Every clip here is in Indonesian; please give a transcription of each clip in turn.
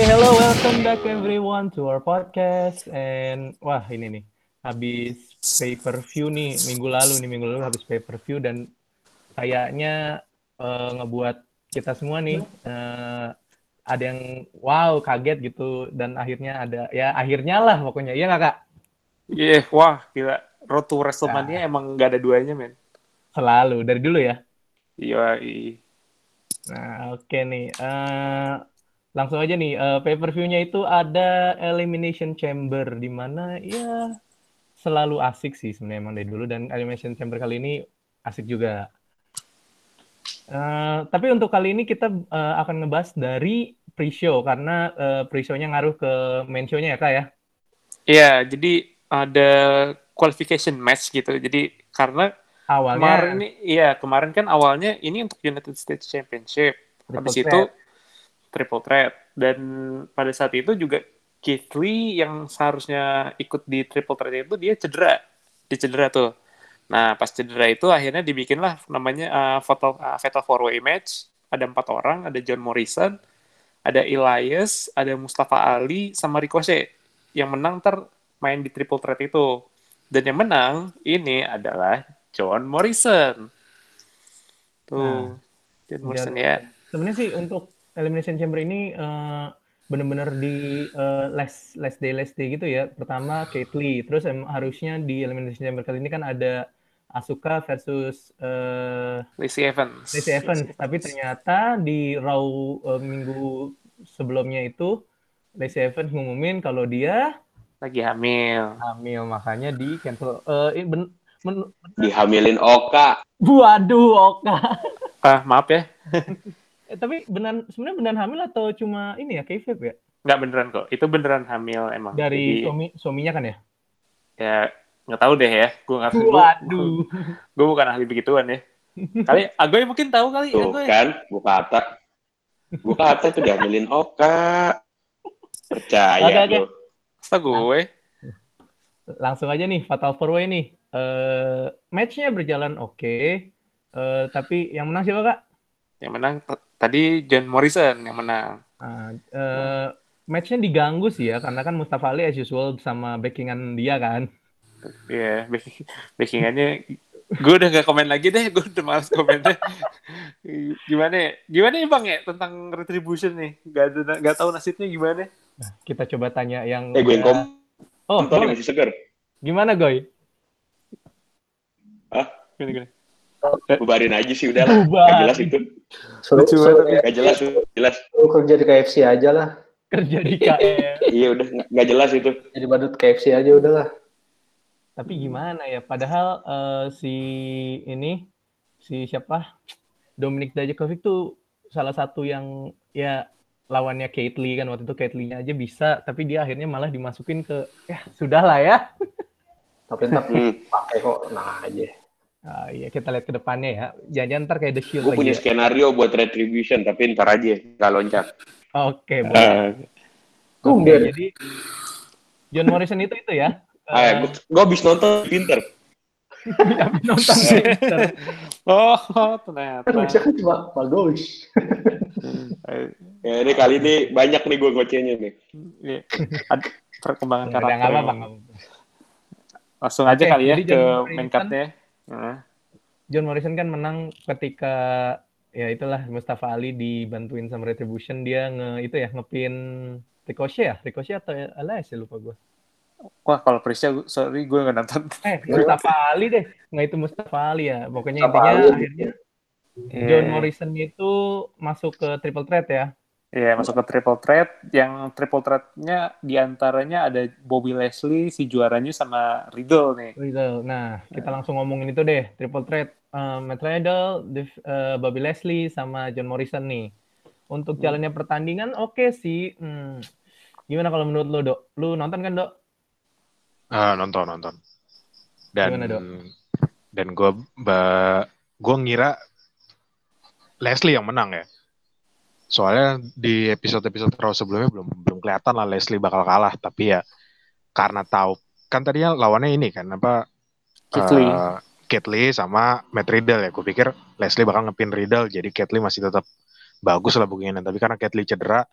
Hello, welcome back everyone to our podcast. And wah ini nih, habis pay per view nih minggu lalu habis pay per view dan kayaknya ngebuat kita semua nih ada yang wow kaget gitu dan akhirnya ada ya akhirnya lah pokoknya iya nggak kak? Wah, gila. Road to WrestleMania Nah, emang gak ada duanya, men. selalu dari dulu ya. Iya, Nah oke nih, langsung aja nih pay per view-nya itu ada Elimination Chamber di mana ya selalu asik sih sebenarnya emang dari dulu dan Elimination Chamber kali ini asik juga. Tapi untuk kali ini kita akan ngebahas dari pre-show karena pre-show-nya ngaruh ke main show-nya ya kak ya. Iya, jadi ada qualification match gitu. Jadi karena Awalnya kemarin kan awalnya ini untuk United States Championship. triple Habis itu threat. triple threat. Dan pada saat itu juga Keith Lee yang seharusnya ikut di triple threat itu dia cedera. Dia cedera tuh. Nah, pas cedera itu akhirnya dibikinlah namanya Fatal 4-Way match. Ada 4 orang, ada John Morrison, ada Elias, ada Mustafa Ali, sama Ricochet. Yang menang main di triple threat itu. Dan yang menang ini adalah John Morrison. Nah, Tuh, John dan Morrison ya. sebenarnya sih untuk Elimination Chamber ini benar-benar di last day gitu ya. Pertama Keith Lee, terus harusnya di Elimination Chamber kali ini kan ada Asuka versus Lacey Evans. Lacey Evans, tapi ternyata di Raw minggu sebelumnya itu Lacey Evans ngumumin kalau dia Lagi hamil. hamil, makanya di cancel. Dihamilin Oka. Waduh, Oka. Maaf ya. Tapi sebenarnya benar hamil atau cuma ini ya, kayfabe ya? Nggak beneran kok. Itu beneran hamil emang. Dari Jadi, suaminya kan ya? ya nggak tahu deh ya. Waduh. Gue bukan ahli begituan ya. Kali Agoy mungkin tahu kali. Tuh Agoy. kan, buka kata itu dihamilin Oka. Percaya Oke. lu. Masa gue? Langsung aja nih, Fatal 4-Way nih. Match-nya berjalan oke. Tapi yang menang siapa kak? Yang menang tadi John Morrison yang menang. Match-nya diganggu sih ya, karena kan Mustafa Ali as usual sama backingan dia kan. Iya, backingannya gue udah gak komen lagi deh, gue udah males komennya. Gimana ya bang ya tentang retribution nih? Gak tahu nasibnya gimana. Nah, kita coba tanya yang Gue yang boleh. masih seger. Gimana Goy? Hah? Gini. Bubarin aja sih udah lah. Bubar. Gak jelas itu. Gak jelas. Kerja di KFC aja lah. Kerja di KL. Iya udah gak jelas itu. Jadi badut KFC aja udahlah. Tapi gimana ya? Padahal si siapa? Dominic Dijakovic tuh salah satu yang ya lawannya Keith Lee kan waktu itu Keith Lee-nya aja bisa, tapi dia akhirnya malah dimasukin ke ya sudahlah ya. Tapi ntar pakai kok, nah aja. Iya kita lihat ke depannya ya. Jangan-jangan ntar kayak The Shield Gue lagi. punya Ya. Skenario buat retribution, tapi ntar aja gak loncat. Oke, boleh. Jadi John Morrison itu ya. Gue habis nonton pinter. Nonton pinter. Oh, ternyata. Kan bisa kan cuma bagus. Ya ini kali ini banyak nih gue ngocehnya nih. Ada perkembangan karakter. Nggak apa-apa. Langsung aja kali ya ke main card-nya. John Morrison kan menang ketika ya itulah Mustafa Ali dibantuin sama Retribution, dia ngepin Ricochet atau Elias ya lupa gue. Wah kalau Prisya sorry gue nggak nonton. Mustafa Ali deh, nggak itu Mustafa Ali ya. Pokoknya intinya akhirnya John Morrison itu masuk ke triple threat ya. Iya, masuk ke triple threat. Yang triple threat-nya diantaranya ada Bobby Lashley, si juaranya, sama Riddle nih. Nah, kita langsung ngomongin itu deh. Triple threat, Matt Riddle, Bobby Lashley, sama John Morrison nih. Untuk jalannya pertandingan oke sih. Gimana kalau menurut lo, Dok? Lu nonton kan, Dok? Nonton. Dan gimana, Dok? Dan gue ngira Leslie yang menang ya. Soalnya di episode-episode Raw sebelumnya belum kelihatan lah Leslie bakal kalah, tapi ya karena tahu kan tadinya lawannya ini kan Keith Lee sama Matt Riddle ya. Gue pikir Leslie bakal ngepin Riddle, jadi Keith Lee masih tetap bagus lah bookingannya. Tapi karena Keith Lee cedera,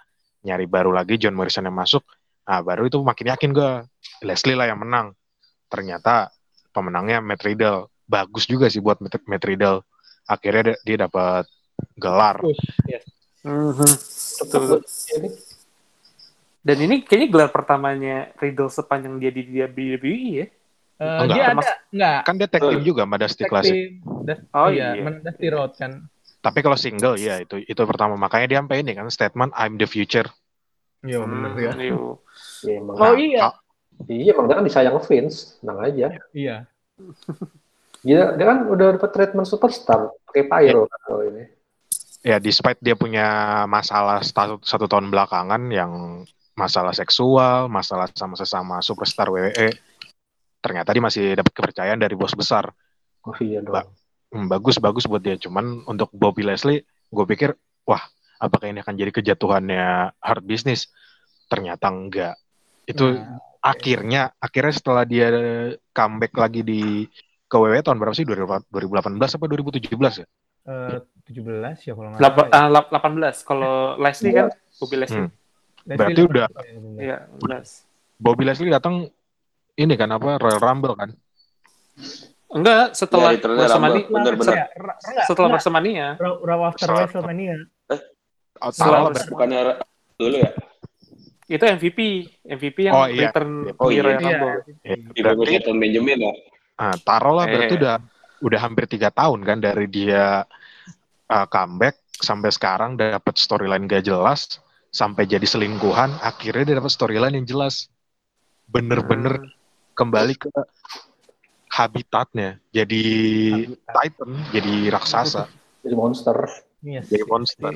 nyari baru lagi, John Morrison yang masuk. Nah, baru itu makin yakin gue, Leslie lah yang menang. Ternyata pemenangnya Matt Riddle. Bagus juga sih buat Matt Riddle. Akhirnya dia dapat gelar. Yes. Betul. Dan ini kayaknya gelar pertamanya Riddle sepanjang dia di WWE ya. Enggak. Dia ada enggak? Kan dia tag team juga sama Dusty Classic. Iya, Dusty Rhodes kan. Tapi kalau single ya itu pertama, makanya dia sampai ini kan statement I'm the future. Iya bener ya. Ya, emang. Oh iya. Iya, emang dia kan disayang Vince, tenang aja. Iya. Dia kan udah dapat treatment superstar pakai pyro kalau ini. Ya, despite dia punya masalah satu tahun belakangan yang masalah seksual, masalah sama sesama superstar WWE, ternyata dia masih dapat kepercayaan dari bos besar. Oh iya dong. Bagus buat dia. Cuman untuk Bobby Leslie, gue pikir, wah, apakah ini akan jadi kejatuhannya Hard Business? Ternyata enggak. Itu akhirnya setelah dia comeback lagi ke WWE tahun berapa sih? 2018 apa 2017 ya? 17 ya kalau nggak salah. 18 kalau Leslie kan Bobby Leslie. Berarti udah. Iya, 18. Bobby Leslie datang ini kan apa Royal Rumble kan? Enggak, setelah WrestleMania. Bener-bener. Setelah WrestleMania. Raw after WrestleMania. Bukannya dulu ya? Itu MVP yang return di Royal Rumble. Berarti Shelton Benjamin ya? Taruhlah berarti udah hampir 3 tahun kan dari dia comeback sampai sekarang dapat storyline gak jelas, sampai jadi selingkuhan, akhirnya dia dapat storyline yang jelas. Bener-bener kembali ke habitatnya, jadi Titan, jadi raksasa, jadi monster. Yes. Jadi monster.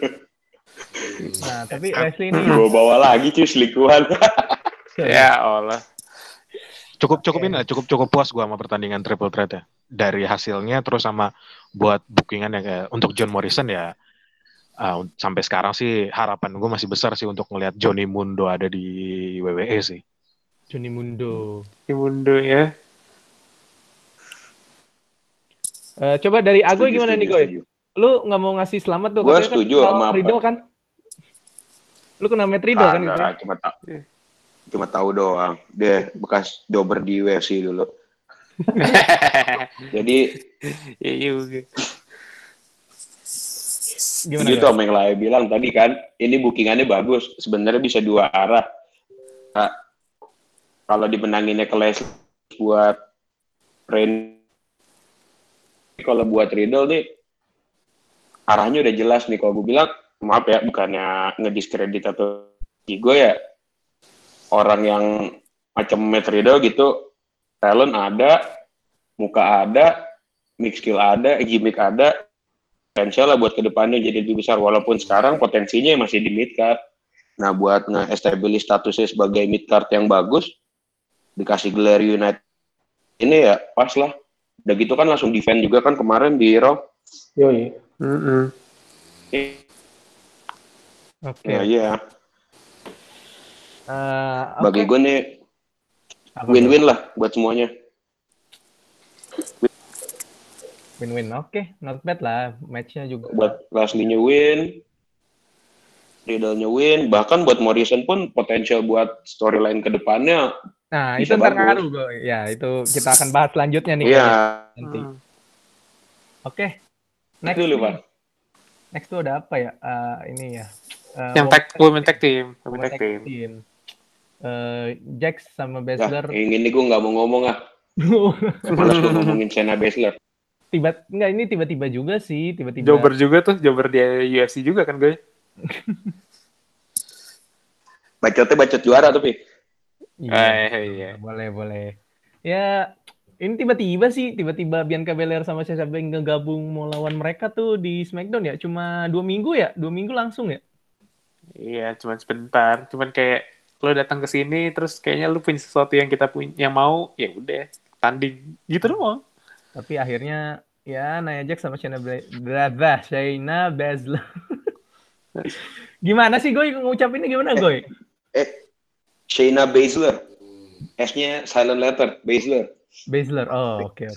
Nah, tapi Leslie ini bawa lagi cuy selingkuhan. Ya Allah. Cukup puas gue sama pertandingan Triple Threat ya. Dari hasilnya terus sama buat bookingan ya kayak untuk John Morrison ya. Sampai sekarang sih harapan gue masih besar sih untuk ngelihat Johnny Mundo ada di WWE sih. Johnny Mundo Ya. Coba dari Agoy gimana nih Goy? Lu nggak mau ngasih selamat tuh? Gue setuju sama Riddle kan? Lu kena Matt Riddle kan? Cuma tahu doang. Dia bekas jobber di UFC dulu. Jadi ya juga. Gimana itu Om yang lain bilang tadi kan, ini bookingannya bagus. Sebenarnya bisa dua arah. Nah, kalau dimenanginnya ke Leslie buat Reigns, kalau buat Riddle nih arahnya udah jelas nih. Kalau gue bilang, maaf ya, bukannya ngediskredit atau gue ya, orang yang macam Matt Riddle gitu, talent ada, muka ada, mix skill ada, gimmick ada, potensial lah buat kedepannya jadi lebih besar. Walaupun sekarang potensinya masih di mid card. Nah, buat nge-establish statusnya sebagai mid card yang bagus, dikasih gelar United ini ya pas lah. Udah gitu kan langsung defend juga kan kemarin di Raw. Yoi. Oke. Iya. Bagi gue nih win-win lah buat semuanya. Win-win, oke. Not bad lah. Match-nya juga. Buat Leslie-nya win, Riddle-nya win, bahkan buat Morrison pun potensial buat storyline ke depannya. Nah, itu ntar ngaruh, ya itu kita akan bahas selanjutnya nih. Iya. Nanti. Oke. Next dulu, Pak. Next tuh ada apa ya? Ini ya. Yang women tag team. Jax sama Baszler. Nah, yang ini gue nggak mau ngomong ah. Malas gue ngomongin Shayna Baszler. Ini tiba-tiba juga sih, tiba-tiba. Jobber juga tuh, jobber di UFC juga kan gue. Bacotnya bacot juara tuh, Pi. Iya. Boleh. Ya, ini tiba-tiba Bianca Belair sama Sasha Banks ngegabung mau lawan mereka tuh di SmackDown ya. Cuma 2 minggu ya? 2 minggu langsung ya? Iya, cuma sebentar. Cuman kayak lo datang ke sini terus kayaknya lo punya sesuatu yang kita punya, yang mau, ya udah tanding gitu doang. Tapi akhirnya ya Nia Jax sama Shayna Baszler. Gimana sih Goy ngucapinnya gimana Goy? Shayna Baszler. S-nya silent letter, Baszler. Oh oke.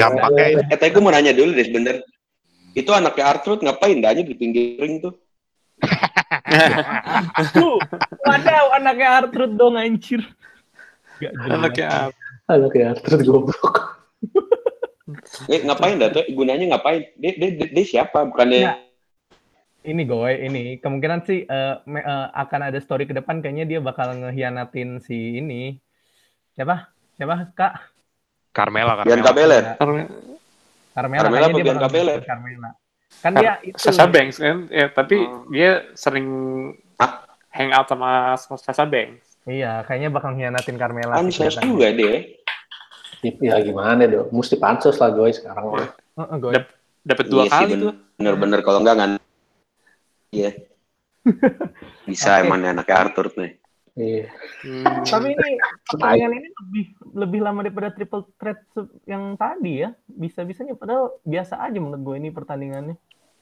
Gampangnya. Tapi gue mau nanya dulu deh sebentar. Itu anaknya R-Truth ngapain aja di pinggir ring tuh? Wadaw, anaknya Artrud dong anjir. Gak jelas. Anaknya apa? Anaknya Arthur goblok. Ngapain dah tuh? Gunanya ngapain? Dia siapa? Bukannya Ya. Ini ini kemungkinan sih akan ada story ke depan, kayaknya dia bakal ngehianatin si ini. Siapa Kak? Carmela. Bianca Belair. Carmela Carmela kayaknya apa dia Bianca bakal Belair? ngehianatin Carmela. Kan dia itu Sasha Banks kan, ya tapi dia sering Hah? hang out sama Sasha Banks. Iya, kayaknya bakal ngehianatin Carmela sih Ansos kelihatannya. juga dia. Ya gimana dong? Mesti pansos lah gue sekarang mah. Goy. Dapat 2 Iya sih, kali tuh. bener-bener kalau enggak kan. Iya. Bisa Oke. emang anaknya Arthur nih. Iya. Tapi ini pertandingan ini lebih lama daripada triple threat yang tadi ya. Bisa-bisanya padahal biasa aja menurut gue ini pertandingannya.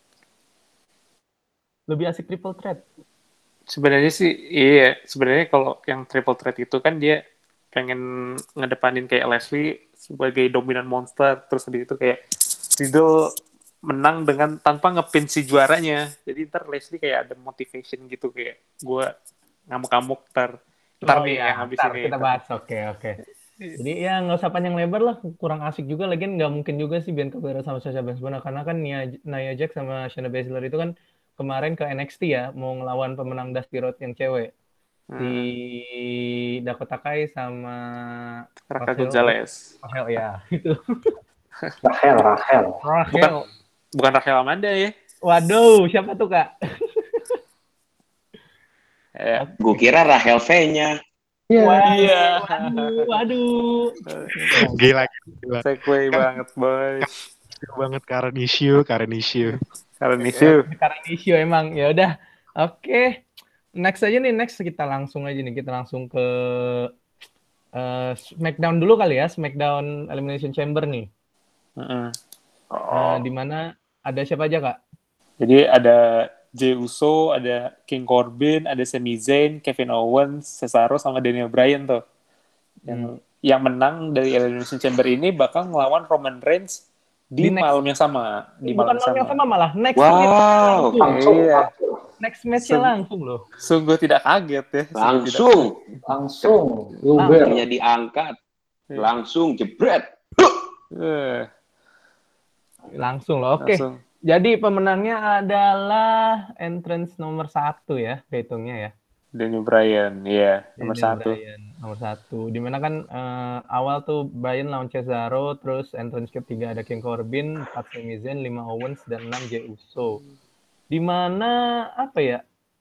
Lebih asik triple threat. Sebenarnya sih iya, sebenarnya kalau yang triple threat itu kan dia pengen ngedepanin kayak Leslie sebagai dominan monster, terus habis itu kayak Riddle menang dengan tanpa ngepin si juaranya. Jadi ntar Leslie kayak ada motivation gitu, kayak gue ngamuk-ngamuk ntar nih yang habis ini. Kita bahas. Oke. Jadi ya nggak usah panjang lebar lah, kurang asik juga, lagian nggak mungkin juga sih Bianca Belair sama Sasha Banks karena kan Nia Jax sama Shayna Baszler itu kan kemarin ke NXT ya, mau ngelawan pemenang Dusty Rhodes yang cewek. Si Dakota Kai sama Raquel Gonzalez. Rachel ya, itu. Rachel. Bukan Rachel Amanda ya. Waduh, siapa tuh Kak? Ya. Gue kira Rachel V-nya. Iya. Waduh. Gila. Segway banget, boy. Banget Karen issue. Karena issue emang. Ya udah. Oke. Next kita langsung ke SmackDown dulu kali ya, SmackDown Elimination Chamber nih. Di mana ada siapa aja Kak? Jadi ada Jey Uso, ada King Corbin, ada Sami Zayn, Kevin Owens, Cesaro sama Daniel Bryan tuh. Yang menang dari Elimination Chamber ini bakal ngelawan Roman Reigns di malam yang sama. Bukan malam yang sama malah next next match-nya langsung loh. Sungguh tidak kaget ya. Langsung. Hanya diangkat. Langsung jebret. Langsung loh. Oke. Jadi pemenangnya adalah entrance nomor 1 ya, kehitungnya ya. Daniel Bryan, iya, nomor 1. Nomor 1. Dimana kan awal tuh Bryan lawan Cesaro, terus entrance ketiga ada King Corbin, 4 Sami Zayn, 5 Owens, dan 6 Jey Uso. Dimana apa ya?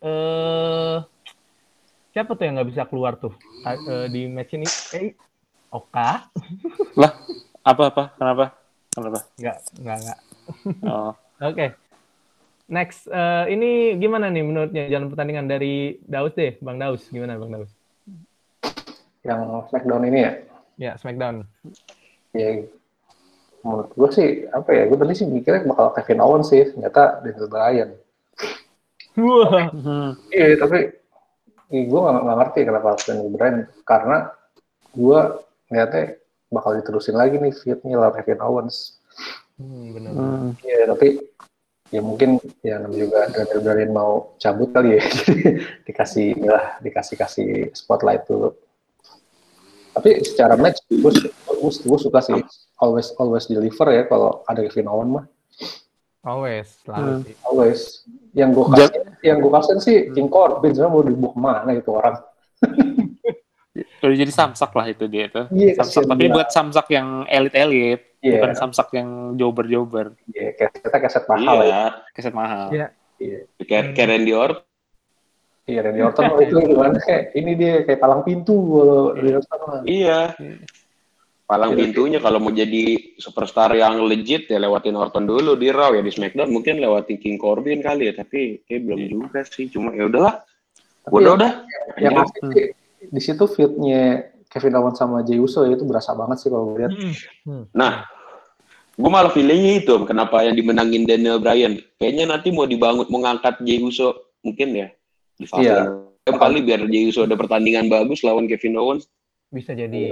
Siapa tuh yang nggak bisa keluar tuh di match ini? Oka? Lah, apa? Kenapa? Enggak. Oh. Oke. Next, ini gimana nih menurutnya jalan pertandingan dari Daus deh, Bang Daus. Gimana Bang Daus? Yang SmackDown ini ya? Ya, SmackDown. Ya, menurut gue sih, gue tadi sih mikirnya bakal Kevin Owens sih, ternyata Daniel Bryan. Wah. Iya, tapi gue nggak ngerti kenapa Daniel Bryan, karena gue lihatnya bakal diterusin lagi nih feud-nya lawan Kevin Owens. Benar. Iya, tapi ya mungkin ya juga Daniel Bryan mau cabut kali ya, jadi dikasih spotlight dulu. Tapi secara match gue suka sih, always deliver ya kalau ada Kevin Owens mah. Selalu sih. Always. Yang gue kasih sih King Corbin, sebenarnya mau dibawa kemana gitu orang. Udah jadi samsak lah itu dia tuh. Iya, samsak, tapi buat samsak yang elit-elit, bukan samsak yang jobber-jobber. Iya, keset mahal ya. Keset mahal. Iya. Kayak Randy Orton. Iya, Randy Orton itu gimana? Ini dia kayak palang pintu kalau Randy Orton. Iya. Palang pintunya kalau mau jadi superstar yang legit ya lewatin Orton dulu di Raw, ya di SmackDown mungkin lewatin King Corbin kali ya, tapi kayak belum juga sih. Cuma ya udahlah. Udah. Yang asli di situ feud-nya Kevin Owens sama Jey Uso ya, itu berasa banget sih kalau gue lihat. Nah, gue malah feelingnya itu kenapa yang dimenangin Daniel Bryan. Kayaknya nanti mau ngangkat Jey Uso mungkin ya di fase kali biar Jey Uso ada pertandingan bagus lawan Kevin Owens. Bisa jadi.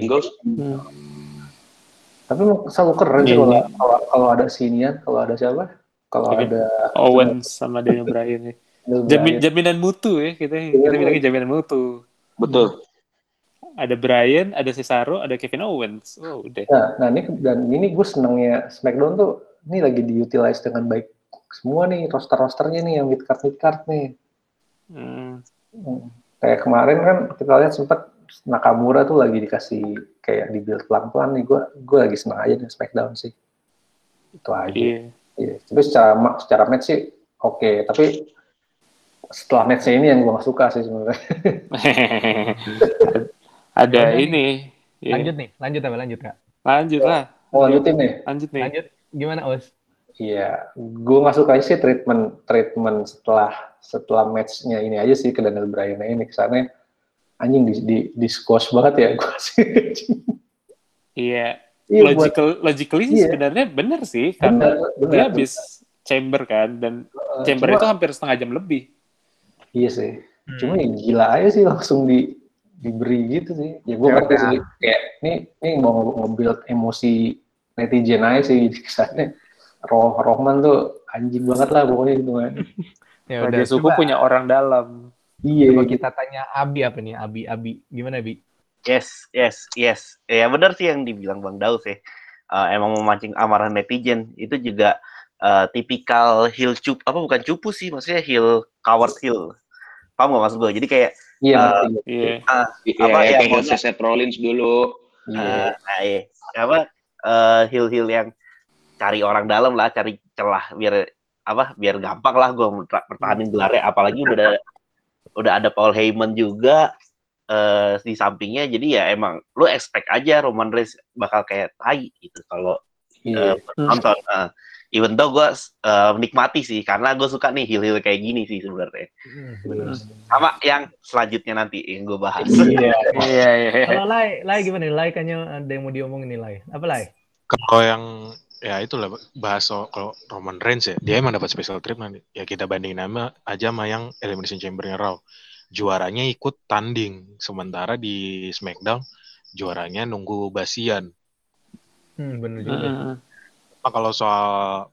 Tapi selalu keren sih kalau ada sinian, kalau ada siapa? Kalau ada Owens sama Daniel Bryan nih. Jaminan mutu ya, kita bilangnya jaminan mutu. Betul. Ada Bryan, ada Cesaro, ada Kevin Owens. Oh, udah. Nah ini gue senangnya SmackDown tuh ini lagi diutilize dengan baik semua nih rosternya nih yang mid card nih. Kayak kemarin kan kita lihat sempat Nakamura tuh lagi dikasih kayak dibuild pelan-pelan nih. Gue lagi senang aja dengan SmackDown sih. Itu aja. Iya. Tapi secara match sih oke. Tapi setelah match-nya ini yang gue gak suka sih sebenarnya. Ada Yaudah ini. Lanjut Kak. Lanjut lah. Lanjutin nih. Lanjut. Gimana Os? Iya, gue nggak suka sih treatment setelah match-nya ini aja sih ke Daniel Bryan ini kesannya anjing di squash banget ya gue sih. Iya. Iya, Logically sih sebenarnya benar sih karena dia habis chamber kan dan chamber itu hampir setengah jam lebih. Iya sih. Cuma ya gila aja sih langsung diberi gitu sih. Ya gue ngerti sih kayak ini mau nge-build emosi netizen aja sih kesannya. Rohman tuh anjing banget lah pokoknya gitu kan. Ya udah suku punya orang dalam. Iya. Coba kita tanya Abi apa nih? Abi. Gimana Abi? Yes. Ya benar sih yang dibilang Bang Daus ya. Emang memancing amarah netizen itu juga tipikal heel cupu, bukan cupu sih, maksudnya heel coward heel. Paham nggak maksud gue? Jadi kayak kayak Seth Rollins dulu. Heel yang cari orang dalam lah, cari celah biar gampang lah gue pertahanin gelarnya, apalagi udah ada Paul Heyman juga di sampingnya, jadi ya emang lu expect aja Roman Reigns bakal kayak tai gitu kalau nonton. Even though gue menikmati sih karena gue suka nih heel kayak gini sih sebenarnya. Sama yang selanjutnya nanti yang gue bahas. Iya. Kalau Lai gimana? Lai kayaknya ada yang mau diomongin nih Lai. Apa Lai? Kalau yang ya itulah bahas kalau Roman Reigns ya, dia emang dapat special treatment. Ya kita bandingin aja sama yang Elimination Chamber-nya Raw. Juaranya ikut tanding, sementara di SmackDown juaranya nunggu basian. Bener juga. Kalau soal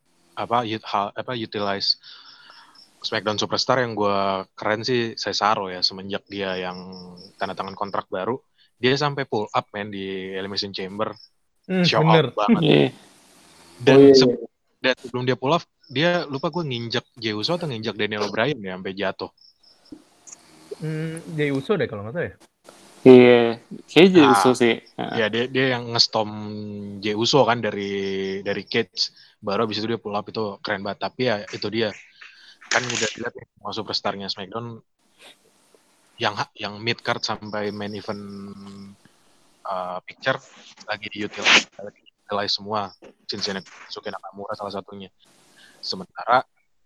utilize SmackDown Superstar yang gue keren sih Cesaro ya, semenjak dia yang tanda tangan kontrak baru, dia sampai pull up di Elimination Chamber. Show up banget. Dan sebelum dia pull off, dia lupa gue nginjak Jey Uso atau nginjak Daniel Bryan ya sampai jatuh. Jey Uso deh kalau nggak tahu ya. Iya, kayak Jey Uso sih. Ya dia yang ngestom Jey Uso kan dari cage, baru abis itu dia pull up, itu keren banget. Tapi ya itu dia kan udah dilihat nih mau superstarnya SmackDown yang mid card sampai main event picture lagi diutilize semua. Shinsuke Nakamura salah satunya. Sementara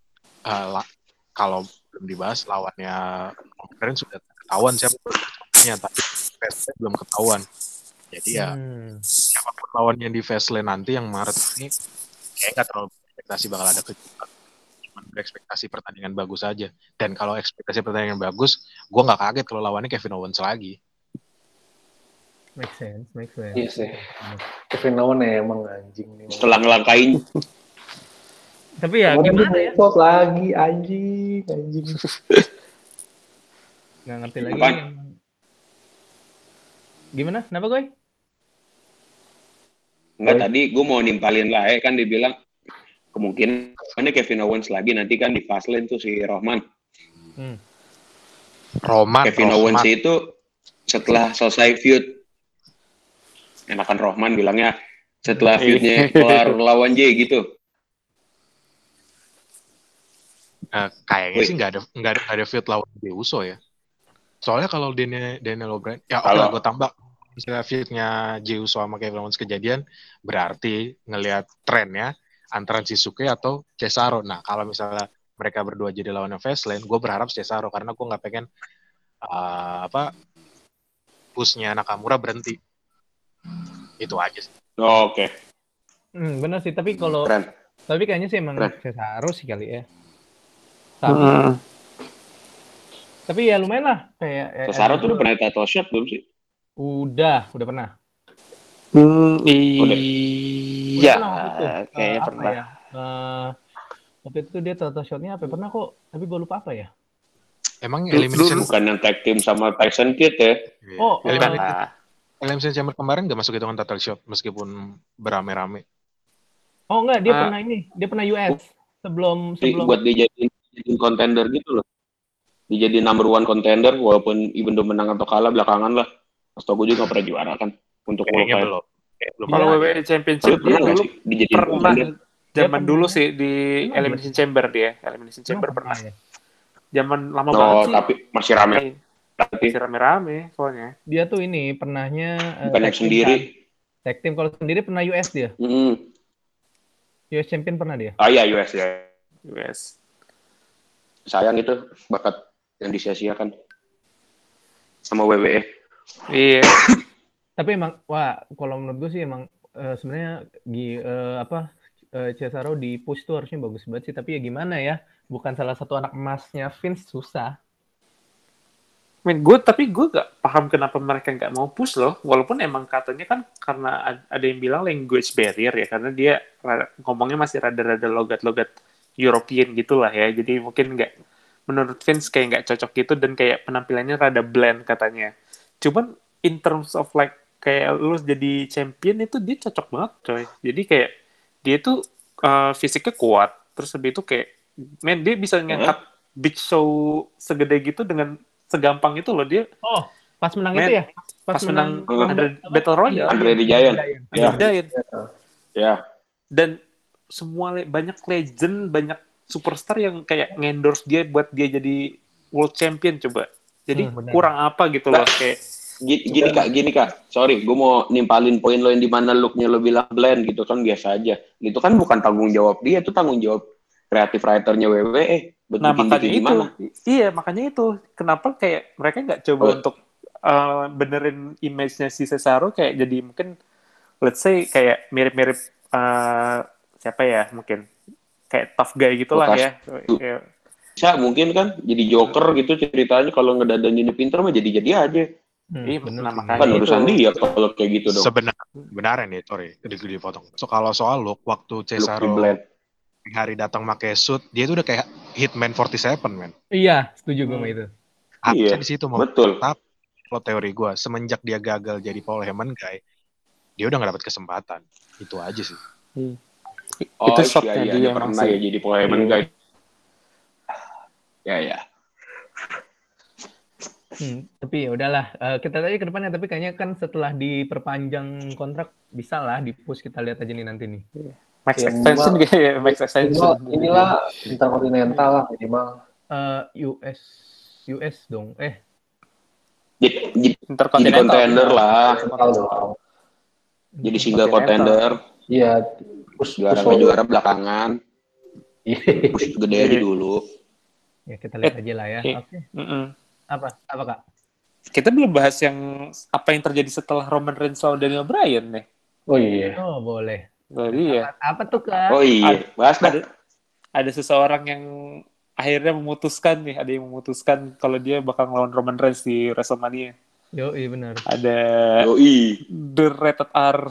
kalau belum dibahas lawannya kemarin sudah ketahuan siapa tapi Fastlane belum ketahuan. Jadi ya siapapun lawannya di Fastlane nanti yang Maret ini kayak nggak terlalu ekspektasi bakal ada kejutan. Cuma berekspektasi pertandingan bagus aja. Dan kalau ekspektasi pertandingan bagus, gue nggak kaget kalau lawannya Kevin Owens lagi. Make sense. Iya sih. Kevin Owens ya emang anjing nih. Setelah ngelangkain. Tapi ya gimana ya? Kok lagi anjing. Nggak ngerti lagi. Gimana? Kenapa gue? Enggak, tadi gue mau nimpalin lah kan dibilang kemungkinan Kevin Owens lagi nanti kan di Fastlane tuh si Roman. Kevin Owens itu setelah selesai feud, enakan Roman bilangnya setelah feudnya kelar lawan Jey gitu. Kayaknya sih nggak ada feud lawan Jey Uso ya. Soalnya kalau Daniel O'Brien, ya gue tambah misalnya feudnya Jey Uso sama Kevin Owens kejadian, berarti ngelihat trennya antara Shinsuke atau Cesaro. Nah kalau misalnya mereka berdua jadi lawan Fastlane, gue berharap Cesaro karena gue nggak pengen pushnya Nakamura berhenti. Itu aja sih. Oke. Benar sih, tapi kayaknya sih emang Cesaro sih kali ya. Tapi ya lumayan lah kayak Cesaro tuh udah pernah title shot belum sih? Udah pernah. Iya, kayaknya pernah. Ya? Waktu itu dia total shot-nya apa? Pernah kok, tapi gue lupa apa ya? Emang Dulu- elimination Bukan yang tag team sama Tyson Kidd ya. Oh, elimination chamber kemarin nggak masuk hitungan total shot meskipun berame-rame. Oh enggak, dia Ah. pernah ini. Dia pernah US. Sebelum Buat dijadiin contender gitu loh. Dijadiin number one contender walaupun even though menang atau kalah belakangan lah. Setahu gue juga nggak pernah juara kan untuk Kayaknya qualifier. belum. Belum Kalau pernah. WWE Championship Tapi dia pernah nggak dulu sih dijadiin pernah contender? zaman pernah. dulu sih di Pernah Elimination Chamber dia. Elimination Chamber pernah. ya. Zaman lama banget Oh, sih. tapi masih rame. Tapi Masih rame-rame soalnya. Dia tuh ini pernahnya bukan yang sendiri. Tag team kalau sendiri pernah US dia. US champion pernah dia. Ah iya US ya. US. Sayang itu bakat yang disia-siakan sama WWE. Iya. Tapi emang wah kalau menurut gue sih emang sebenarnya Cesaro di push tuh harusnya bagus banget sih, tapi ya gimana ya, bukan salah satu anak emasnya Vince, susah. Tapi gue gak paham kenapa mereka gak mau push loh, walaupun emang katanya kan karena ada yang bilang language barrier ya, karena dia ngomongnya masih rada-rada logat-logat European gitulah ya, jadi mungkin menurut Vince kayak gak cocok gitu, dan kayak penampilannya rada bland katanya. Cuman in terms of like kayak lu jadi champion itu dia cocok banget coy, jadi kayak dia tuh fisiknya kuat, terus habis itu kayak dia bisa ngangkat Big Show segede gitu dengan segampang itu loh dia. Oh, pas menang itu ya? Pas menang Battle Royale. Andre the Giant. Ya. Dan semua banyak legend, banyak superstar yang kayak ngendorse dia buat dia jadi world champion coba. Jadi kurang apa gitu loh kayak Gini kak, sorry, gue mau nimpalin poin lo yang dimana looknya lo bilang blend gitu kan biasa aja. Itu kan bukan tanggung jawab dia, itu tanggung jawab kreatif writernya WWE. Nah makanya itu, iya makanya itu kenapa kayak mereka nggak coba untuk benerin image-nya si Cesaro kayak jadi mungkin let's say kayak mirip-mirip siapa ya mungkin kayak tough guy gitulah ya. Bisa mungkin kan jadi Joker gitu ceritanya, kalau ngedadaninnya pinter mah jadi aja. Iya, benar. Kan urusan dia kalau kayak gitu dong. Sebenarnya nih, sorry, dipotong. So kalau soal look, waktu Cesaro hari datang pakai suit, dia tuh udah kayak Hitman 47, men. Iya, setuju gue sama itu. Harusnya di situ mau. Betul. Tapi kalau teori gue, semenjak dia gagal jadi Paul Heyman guy, dia udah nggak dapat kesempatan. Itu aja sih. Itu shotnya dia pernah ya jadi Paul Heyman guy. Ya. Tapi ya udahlah, kita tadi ke depannya, tapi kayaknya kan setelah diperpanjang kontrak bisa lah di-push, kita lihat aja nih nanti nih. Max extension kayak Max extension. Inilah interkontinental lah minimal. US dong. Jadi contender lah. Jadi single contender. Iya, juara belakangan. Push gede aja dulu. Ya kita lihat aja lah ya. Oke. Apa Kak? Kita belum bahas yang apa yang terjadi setelah Roman Reigns lawan Daniel Bryan nih. Oh iya. Oh boleh. Iya. Apa tuh Kak? Oh iya. Bahas dah. Ada seseorang yang akhirnya memutuskan kalau dia bakal ngelawan Roman Reigns di WrestleMania. Yoi benar. Ada The Rated R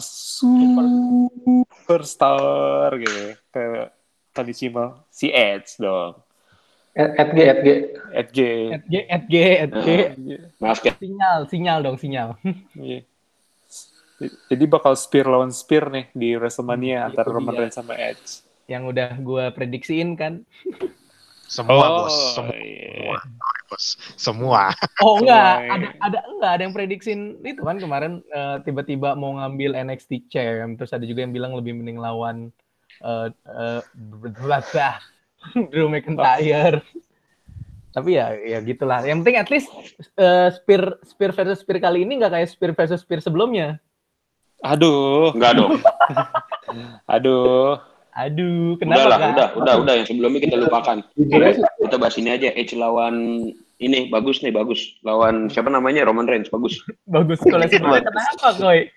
Superstar gitu ke Tony Chimel, si Edge dong. Edge. Sinyal dong. Iya. Jadi bakal spear lawan spear nih di WrestleMania antara Roman Reigns sama Edge. Yang udah gue prediksiin kan. Semua. Oh enggak, ada yang prediksiin itu kan kemarin tiba-tiba mau ngambil NXT Champ, terus ada juga yang bilang lebih mending lawan Drew McIntyre. Tapi ya gitulah. Yang penting at least spear versus spear kali ini nggak kayak spear versus spear sebelumnya. Aduh, kenapa? Udah yang sebelumnya kita lupakan. Kita bahas ini aja, Edge lawan ini bagus. Lawan siapa namanya? Roman Reigns bagus. Kalau sebelumnya kenapa, Koy?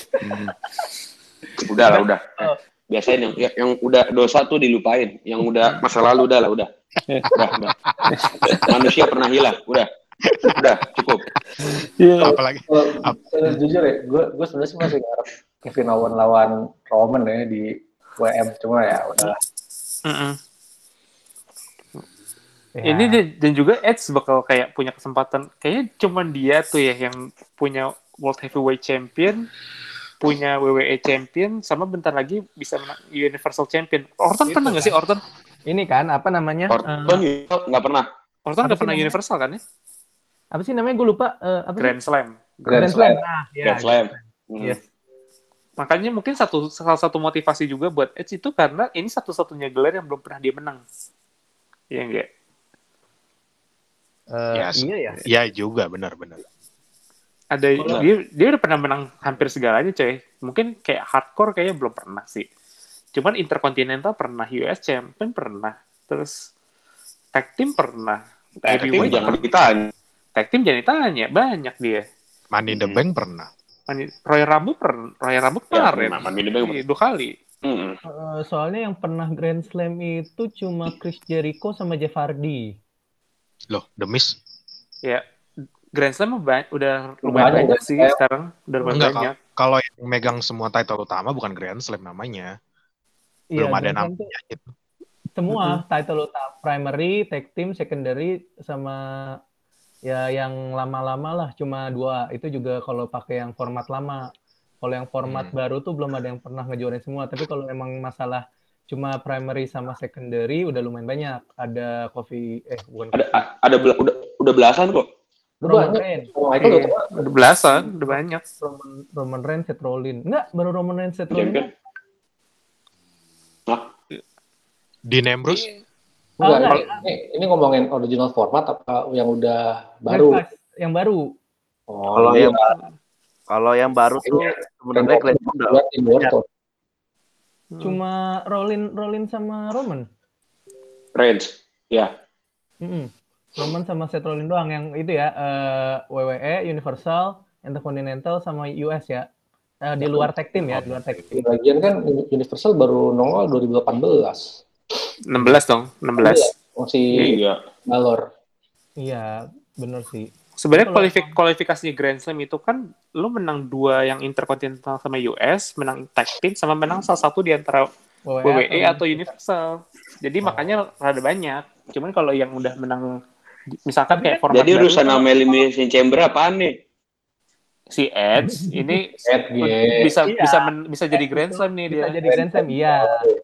Udah. Biasain yang udah dosa tuh dilupain, yang udah masa lalu udah. Manusia pernah hilang, udah cukup. Apalagi jujur ya, gue sebenarnya sih masih ngarep Kevin Owens lawan Roman ya di WM, cuma ya udahlah. Ya. Dan juga Edge bakal kayak punya kesempatan. Kayaknya cuman dia tuh ya yang punya World Heavyweight Champion, punya WWE Champion, sama bentar lagi bisa menang Universal Champion. Orton Itu pernah nggak sih kan. Orton? Ini kan apa namanya? Orton nggak pernah. Orton Apa nggak sih pernah namanya? Universal kan ya? Apa sih namanya? Gue lupa. Apa sih? Grand Slam. Grand Grand Slam. Slam. Nah, ya. Grand Slam. Yes. Makanya mungkin salah satu motivasi juga buat Edge itu karena ini satu-satunya gelar yang belum pernah dia menang. Iya enggak? Iya ya. Iya juga, benar-benar. Ada dia udah pernah menang hampir segalanya, coy. Mungkin kayak hardcore kayaknya belum pernah sih. Cuman Intercontinental pernah, US Champion pernah, terus Tag Team pernah. Tag Team Heavyweight jangan ditanya. Tag Team jangan ditanya, banyak dia. Money in the Bank pernah. Royal Rumble kemarin. pernah. Money in the Bank Iya, 2 kali. Soalnya yang pernah Grand Slam itu cuma Chris Jericho sama Jeff Hardy. Loh, The Miz. Ya, Grand Slam udah lumayan banyak sih sekarang. Udah lumayan Enggak, banyak. kalau yang megang semua title utama bukan Grand Slam namanya. Iya, Belum ada Grand Slam tuh namanya gitu. semua title utama, primary, tag team, secondary, sama ya yang lama-lama lah cuma 2. Itu juga kalau pakai yang format lama. Kalau yang format baru tuh belum ada yang pernah ngejuarin semua. Tapi kalau emang masalah cuma primary sama secondary udah lumayan banyak. Ada Udah belasan kok. Roman Reigns. Udah belasan, udah banyak. Roman Reigns, Seth Rollins. Enggak, baru Roman Reigns, Seth Rollins. Dean Ambrose? Enggak, ini ngomongin original format apa yang udah baru? Yang baru. Kalau yang baru tuh sebenarnya kelihatan udah. Cuma Rollins sama Roman. Reigns, ya. Roman sama Seth Rollins doang yang itu ya, WWE, Universal, Intercontinental sama US ya. Di luar tag team ya, di luar tag team. Lagian kan Universal baru nongol 2018. 16 dong, 16. Masih Balor. Iya, bener sih. Sebenarnya kualifikasinya Grand Slam itu kan lu menang 2 yang Intercontinental sama US, menang tag team sama menang salah satu di antara WWE atau Universal. Jadi makanya rada banyak. Cuman kalau yang udah menang misalkan kayak format jadi urusan nama Elimination Chamber apaan nih? Si Edge ini bisa jadi Grand Slam nih dia. Bisa jadi Grand Slam, iya.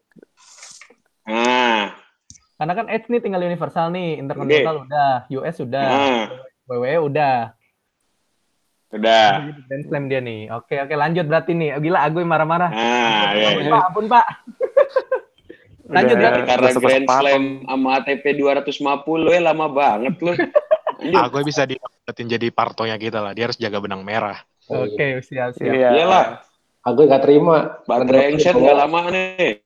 Karena kan Edge nih tinggal Universal nih, Intercontinental udah, US udah, WWE udah. Grand Slam dia nih. Oke, lanjut berarti nih. Gila, Agoy marah-marah. Ampun, Pak. Lanjut berarti. Karena Grand Slam sama ATP 250 lama banget loh. Agoy bisa didapetin jadi partonya kita lah. Dia harus jaga benang merah. Oke, siap. Iyalah. Agoy gak terima. Baterai Engset gak lama nih.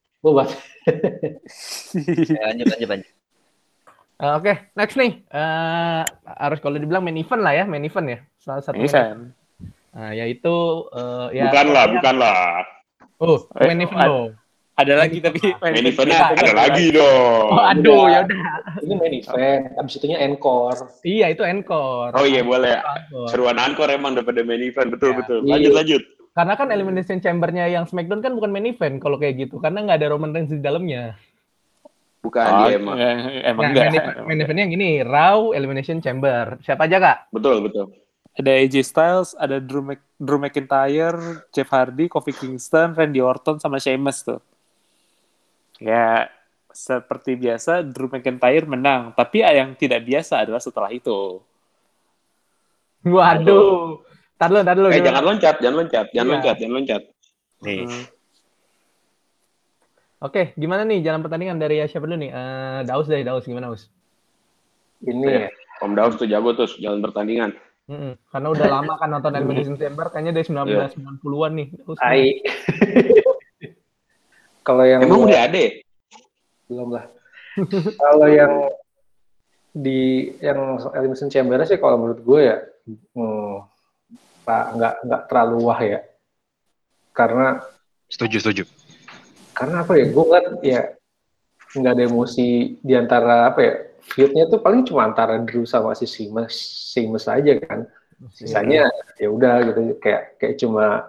Lanjut. Oke, next nih. Harus kalau dibilang main event lah ya, main event ya. Salah satu event. Yaitu Bukanlah. Oh, main event loh. Ada lagi tapi main eventnya ada lagi dong. Oh, aduh, ya udah. Ini main event, abis itunya encore. Iya, itu encore. Oh iya boleh. Seruan encore emang daripada main event, betul. Lanjut. Karena kan Elimination Chamber-nya yang SmackDown kan bukan main event kalau kayak gitu, karena nggak ada Roman Reigns di dalamnya. Bukan emang enggak. Main eventnya yang ini, Raw Elimination Chamber. Siapa aja, Kak? Betul. Ada AJ Styles, ada Drew McIntyre, Jeff Hardy, Kofi Kingston, Randy Orton, sama Sheamus tuh. Ya, seperti biasa Drew McIntyre menang, tapi yang tidak biasa adalah setelah itu. Waduh. Tar dulu. Jangan loncat. Nih. Oke, gimana nih jalan pertandingan dari siapa dulu nih? Daus gimana, Daus? Ini Om Daus tuh jago tuh jalan pertandingan. Karena udah lama kan nonton Elimination Chamber, kayaknya dari 1990-an nih. Kalau yang emang udah ada? Belum lah. Kalau yang Elimination Chamber sih kalau menurut gue ya nggak terlalu wah ya. Karena Setuju. Karena apa ya? Gue ngeliat ya nggak ada emosi di antara feud-nya tuh paling cuma antara Drew sama si Sheamus aja kan. Sisanya ya udah gitu kayak cuma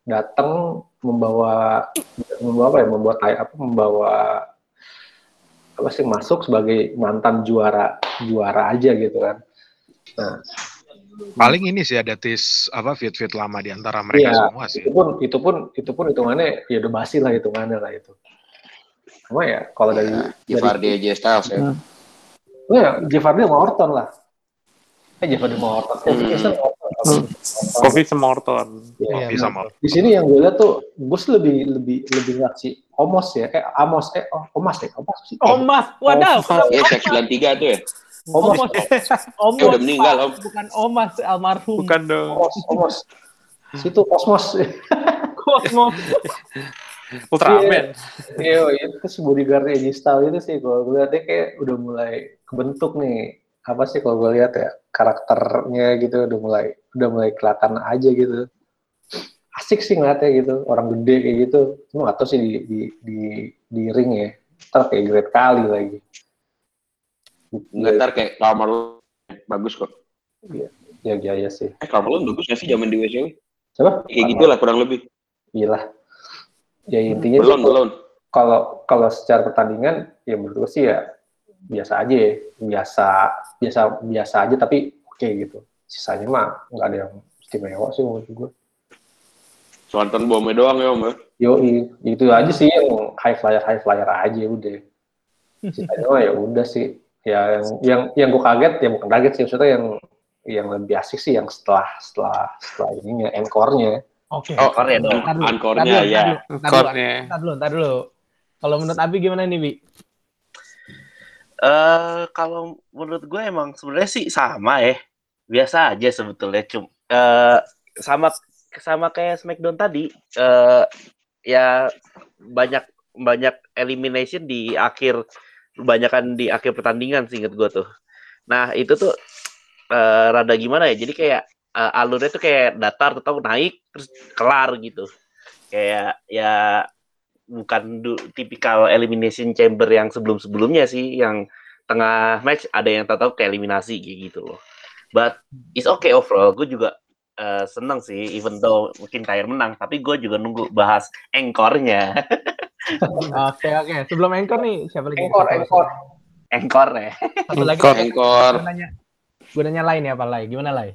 membawa masuk sebagai mantan juara aja gitu kan. Nah, Paling ini sih ada feud lama di antara mereka semua sih. Itu pun hitungannya ya udah basi lah hitungannya lah itu. Cuma ya kalau dari Jeff Hardy AJ Styles ya. Ya Jeff Hardy sama Orton lah. Jeff Hardy sama Orton. Kofi sama Orton. Ya, Bisa mau. di sini yang gue lihat tuh gue sih lebih ngasih Omos ya. Omas ya. Omas sih. Omas, wadaw. Ya Sek 93 tuh ya. Omos. Omos. Udah meninggal, Om. Bukan Omas, almarhum. Bukan dong. Omos. Situ Kosmos. Kosmos. Ultraman. Iya, itu si bodyguard AJ Styles itu sih kalau gue lihat dia kayak udah mulai kebentuk nih. Apa sih kalau gue lihat ya karakternya gitu udah mulai kelihatan aja gitu. Asik sih ngeliatnya gitu, orang gede kayak gitu. Cuma nggak tahu sih di ring ya. Ntar kayak great kali lagi. Ntar kayak Carmelo bagus kok. Iya sih. Carmelo bagus nggak sih zaman di WCW? Siapa? Kayak gitulah kurang lebih. Iyalah. Ya intinya Belum. Kalau secara pertandingan ya menurut gue sih ya biasa aja ya. Biasa aja tapi oke gitu. Sisanya mah nggak ada yang istimewa sih menurut gue. Swanton bomnya doang ya Om. Yoi, itu aja sih yang high flyer aja udah. Sisanya mah ya udah sih. Ya yang gue kaget ya bukan kaget sih maksudnya yang lebih asik sih yang setelah ininya encore-nya. Oke. Encore-nya dong. Encore-nya ya. Ntar dulu. Kalau menurut Abi gimana nih, Bi? Kalau menurut gue emang sebenarnya sih sama ya. Biasa aja sebetulnya. Sama kayak Smackdown tadi. Ya banyak elimination di akhir, kebanyakan di akhir pertandingan sih inget gue tuh. Nah itu tuh rada gimana ya, jadi kayak alurnya tuh kayak datar atau naik terus kelar gitu, kayak ya bukan tipikal elimination chamber yang sebelumnya sih, yang tengah match ada yang tahu kayak eliminasi gitu loh. But it's okay overall, gue juga seneng sih, even though mungkin Tyre menang, tapi gue juga nunggu bahas encore-nya. Oke. Sebelum encore nih, siapa lagi? Encore-nya. Satu lagi. Encore. Gue nanya Lai nih, apa Lai? Gimana Lai?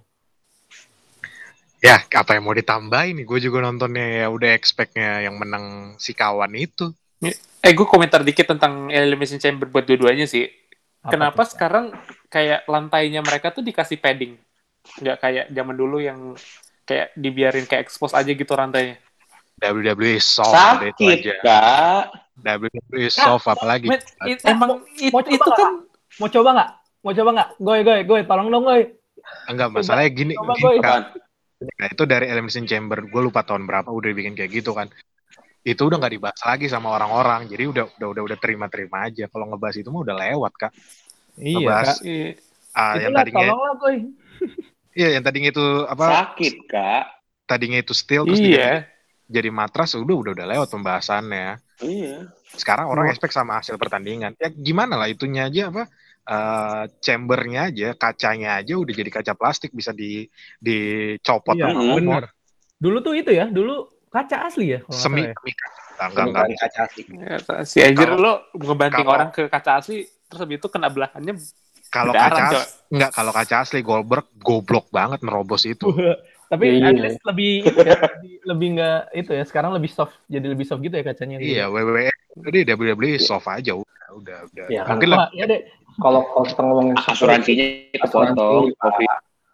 Ya, apa yang mau ditambahin nih? Gue juga nontonnya ya udah expect-nya yang menang si kawan itu. Gue komentar dikit tentang Elimination Chamber buat dua-duanya sih. Kenapa sekarang kayak lantainya mereka tuh dikasih padding? Nggak kayak zaman dulu yang kayak dibiarin kayak expose aja gitu rantainya. WWE soft. Sakit, Kak. WWE soft apalagi. Emang itu kan... Mau coba nggak? Goy, tolong dong, Goy. Enggak, masalahnya gini kan. Nah, itu dari Elimination Chamber, gue lupa tahun berapa udah bikin kayak gitu kan. Itu udah nggak dibahas lagi sama orang-orang, jadi udah terima aja. Kalau ngebahas itu mah udah lewat, Kak. Iya, ngebahas, Kak. yang tadinya tolonglah, Goy. Iya, yang tadinya itu apa? Sakit, Kak. Tadinya itu steel terus jadi matras, udah lewat pembahasannya. Iya. Sekarang orang expect sama hasil pertandingan. Ya gimana lah, itunya aja apa? Chambernya aja, kacanya aja udah jadi kaca plastik, bisa dicopot. Iya, bener. Dulu tuh itu ya, dulu kaca asli ya? Semi enggak kaca asli. Si Ajer lo ngebanting orang ke kaca asli, terus habis itu kena belahannya. Kalau kaca asli Goldberg goblok banget nerobos itu. Tapi lebih nggak itu ya, sekarang lebih soft, jadi lebih soft gitu ya kacanya. Iya, WWE jadi WWE soft aja udah. Ya, mungkin lah. Ya deh. Kalau kita ngomongin asuransinya kepotong, Kofi.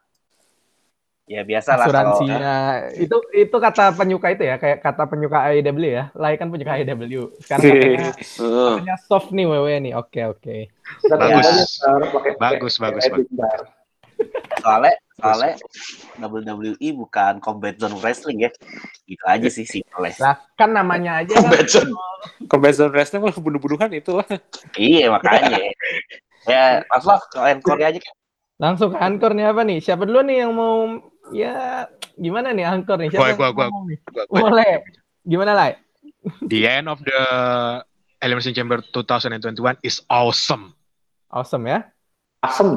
Ya biasa lah. Asuransinya itu kata penyuka itu ya, kayak kata penyuka AEW ya. Lai kan penyuka AEW. Sekarang katanya soft nih WWE nih. Oke. Bagus. Soalnya WWE bukan Combat Zone Wrestling ya. Gitu aja sih simpelnya. Lah, kan namanya aja Combat Zone Wrestling malah bunuh-bunuhan itu lah. Iya, makanya. Ya, Mas ke encore aja kan. Langsung ke encore nih apa nih? Siapa dulu nih yang mau gimana nih encore nih? Siapa gua. Boleh. Gimana Lai? The end of the Elimination Chamber 2021 is awesome. Awesome ya? Awesome.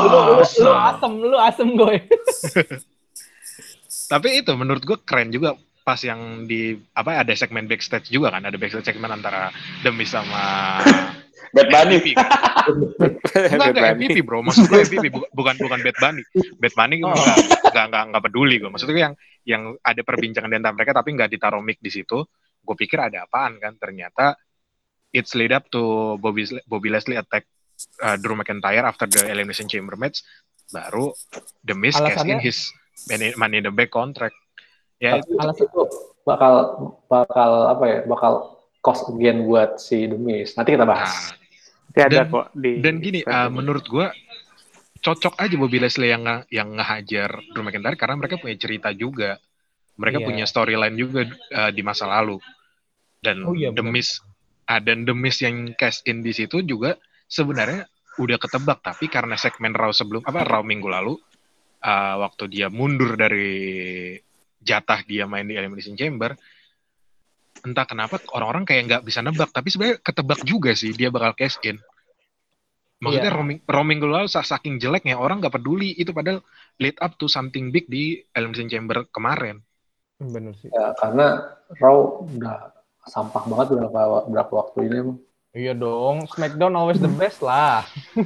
Lu asem gue. Tapi itu menurut gue keren juga. pas yang di apa ada segmen backstage juga kan, ada backstage segmen antara The Miz sama Bad Bunny. MVP. Enggak MVP bro, maksud gue MVP bukan Bad Bunny. Bad Bunny nggak peduli gue. Maksudnya yang ada perbincangan di antara mereka tapi nggak ditaruh mic di situ. Gue pikir ada apaan kan, ternyata it's lead up to Bobby Lashley attack Drew McIntyre after the Elimination Chamber match, baru The Miz cash in his Money in the Bank contract. Ya itu bakal apa ya? Bakal cost again buat si The Miz. Nanti kita bahas. Dan gini, menurut gue cocok aja Bobby Lashley yang ngehajar Drew McIntyre karena mereka punya cerita juga, mereka punya storyline juga di masa lalu. Dan The Miz yang cash in di situ juga sebenarnya udah ketebak, tapi karena segmen Raw Raw minggu lalu, waktu dia mundur dari jatah dia main di Elimination Chamber, entah kenapa orang-orang kayak nggak bisa nebak, tapi sebenarnya ketebak juga sih dia bakal cash in. Maksudnya Raw minggu lalu saking jeleknya orang nggak peduli itu, padahal lead up to something big di Elimination Chamber kemarin. Bener sih. Ya, karena Raw udah sampah banget berapa waktu ini. Iya dong, SmackDown always the best lah.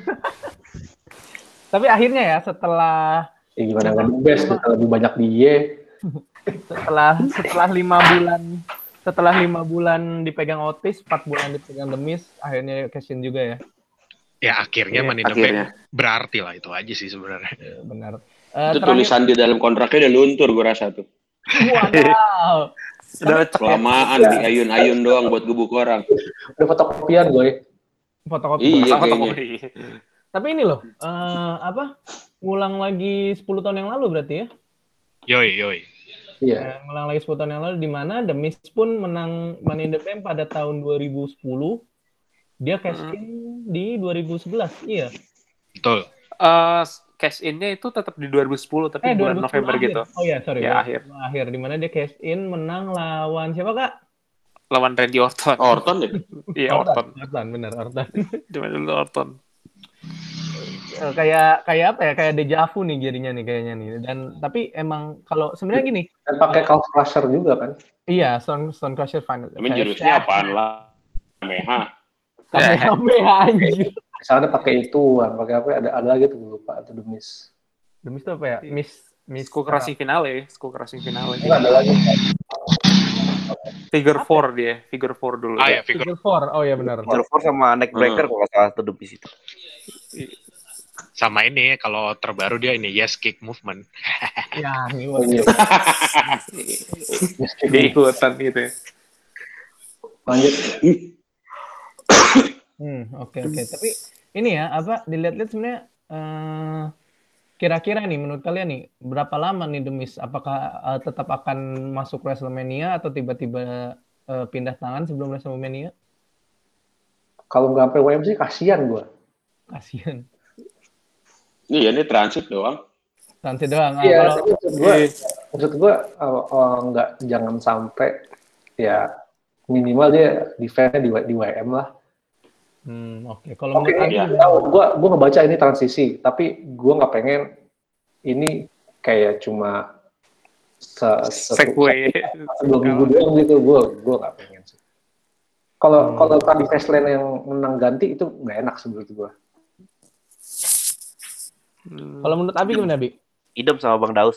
Tapi akhirnya ya setelah gimana nggak the best, lebih banyak dia. setelah 5 bulan dipegang Otis, 4 bulan dipegang The Miz, akhirnya cash in juga ya. Ya akhirnya Money in the Bank berarti lah, itu aja sih sebenarnya. Ya, benar. Itu tulisan di dalam kontraknya udah luntur gue rasa tuh. Wow. Udah kelamaan diayun-ayun doang buat gebuk orang. Udah fotokopian gue. Fotokopi. Iya kayaknya. Tapi ini loh, ngulang lagi 10 tahun yang lalu berarti ya? Yoi. Iya. Ngulang lagi 10 tahun yang lalu, di mana The Miz pun menang Money in the Bank pada tahun 2010. Dia cash in di 2011, iya. Betul. Cash in-nya itu tetap di 2010, tapi bulan November akhir. gitu. Oh iya, sorry. Ya, akhir. Di mana dia cash in menang lawan siapa, Kak? Lawan Randy Orton. Orton deh. Iya, Orton. Bener, Orton. Cuma dulu Orton. Kayak apa ya? Kayak deja vu nih jadinya nih kayaknya nih. Dan tapi emang kalau sebenarnya gini. Dan pakai Calf Crusher juga kan? Iya, Stone Crusher final. Tapi jurusnya apaan lah? Kamehameha anjir. Misalnya pakai itu, pakai apa? Ada lagi tuh lupa atau The Miz. The Miz itu apa ya? Miz Skull Crushing finale. Enggak ada lagi. Figure 4 dia, Figure 4 dulu. Ya, Figure 4. Oh iya benar. Figure 4 sama neck breaker kalau salah tuh The Miz itu. Sama ini kalau terbaru dia ini Yes Kick Movement. Ya, ini dia ikutan gitu ya. Lanjut. Oke. Tapi ini ya, dilihat-lihat sebenarnya kira-kira nih menurut kalian nih berapa lama nih The Miz? Apakah tetap akan masuk WrestleMania atau tiba-tiba pindah tangan sebelum WrestleMania? Kalau nggak sampai WM sih kasihan gue. Kasihan. Iya, ini transit doang. Iya, maksud gue nggak, jangan sampai ya minimal dia defense-nya di WM lah. Oke. Kalau gue ngebaca ini transisi, tapi gue nggak pengen ini kayak cuma segway sebelum minggu doang gitu. Gue nggak pengen sih. Kalau tadi Fastlane yang menang ganti itu nggak enak menurut gue. Kalau menurut Abi gimana, Abi? Idem sama Bang Daus.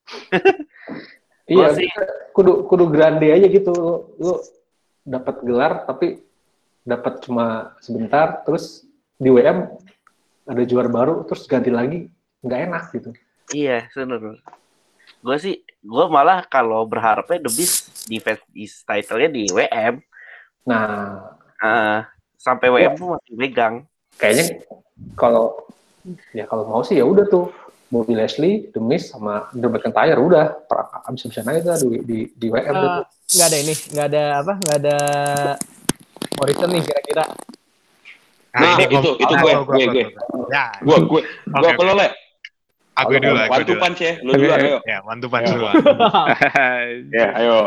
Iya, kudu grande aja gitu. Lu dapat gelar tapi dapat cuma sebentar, terus di WM ada juara baru, terus ganti lagi, nggak enak gitu. Iya, benar. Gue malah kalau berharapnya The Miz defense title-nya di WM. Nah, sampai WM tuh masih megang. Kayaknya kalau mau sih ya udah tuh Bobby Lashley, The Miz sama Drew McIntyre udah abis-abisan aja di WM tuh. Nggak ada ini, nggak ada Morrison nih kira-kira. Nah, itu gue. Gue kalau Le. Aku dulu. One two punch ya, lu dulu ayo. Ya, one two punch dulu. Ya, ayo.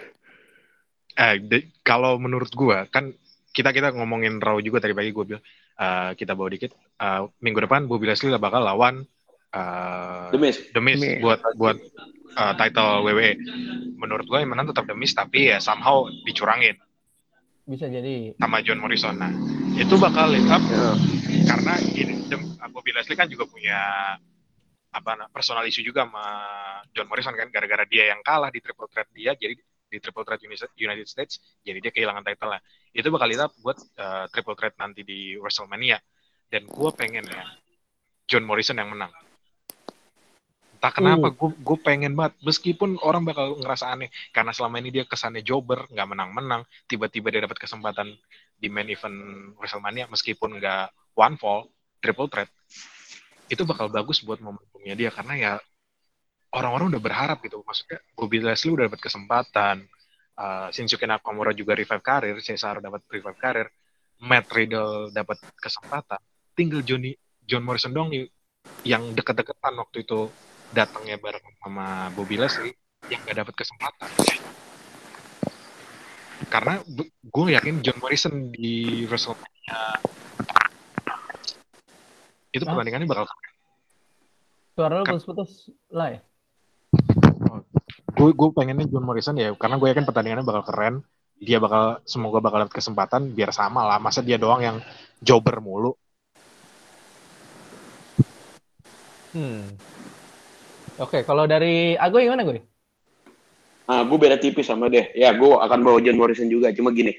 Kalau menurut gue kan kita ngomongin Raw juga tadi pagi gue bilang kita bawa dikit. Minggu depan Bobby Lashley bakal lawan The Miz buat title WWE. Menurut gue yang menang tetap The Miz, tapi ya somehow dicurangin Bisa jadi. sama John Morrison. Nah, itu bakal lead up karena gini, Bobby Lashley kan juga punya personal issue juga sama John Morrison kan, gara-gara dia yang kalah di triple threat dia, jadi di triple threat United States, jadi dia kehilangan title-nya. Itu bakal lead up buat triple threat nanti di WrestleMania. Dan gue pengen ya John Morrison yang menang. Entah kenapa gue pengen banget, meskipun orang bakal ngerasa aneh karena selama ini dia kesannya jobber, nggak menang-menang, tiba-tiba dia dapat kesempatan di main event WrestleMania meskipun nggak one fall, triple threat, itu bakal bagus buat momentumnya dia karena ya orang-orang udah berharap gitu. Maksudnya Bobby Lashley udah dapat kesempatan, Shinsuke Nakamura juga revive karir, Cesaro dapat revive karir, Matt Riddle dapat kesempatan, tinggal John Morrison dong yang deket-deketan waktu itu datangnya bareng sama Bobby Lashley yang gak dapat kesempatan. Karena gue yakin John Morrison di WrestleMania itu pertandingannya bakal keren. Suara lu putus-putus lah ya? Gue pengennya John Morrison ya, karena gue yakin pertandingannya bakal keren. Dia semoga bakal dapat kesempatan biar sama lah. Masa dia doang yang jobber mulu. Oke, kalau dari Agoy gimana gue? Gue beda tipis sama deh. Ya, gue akan bawa John Morrison juga. Cuma gini,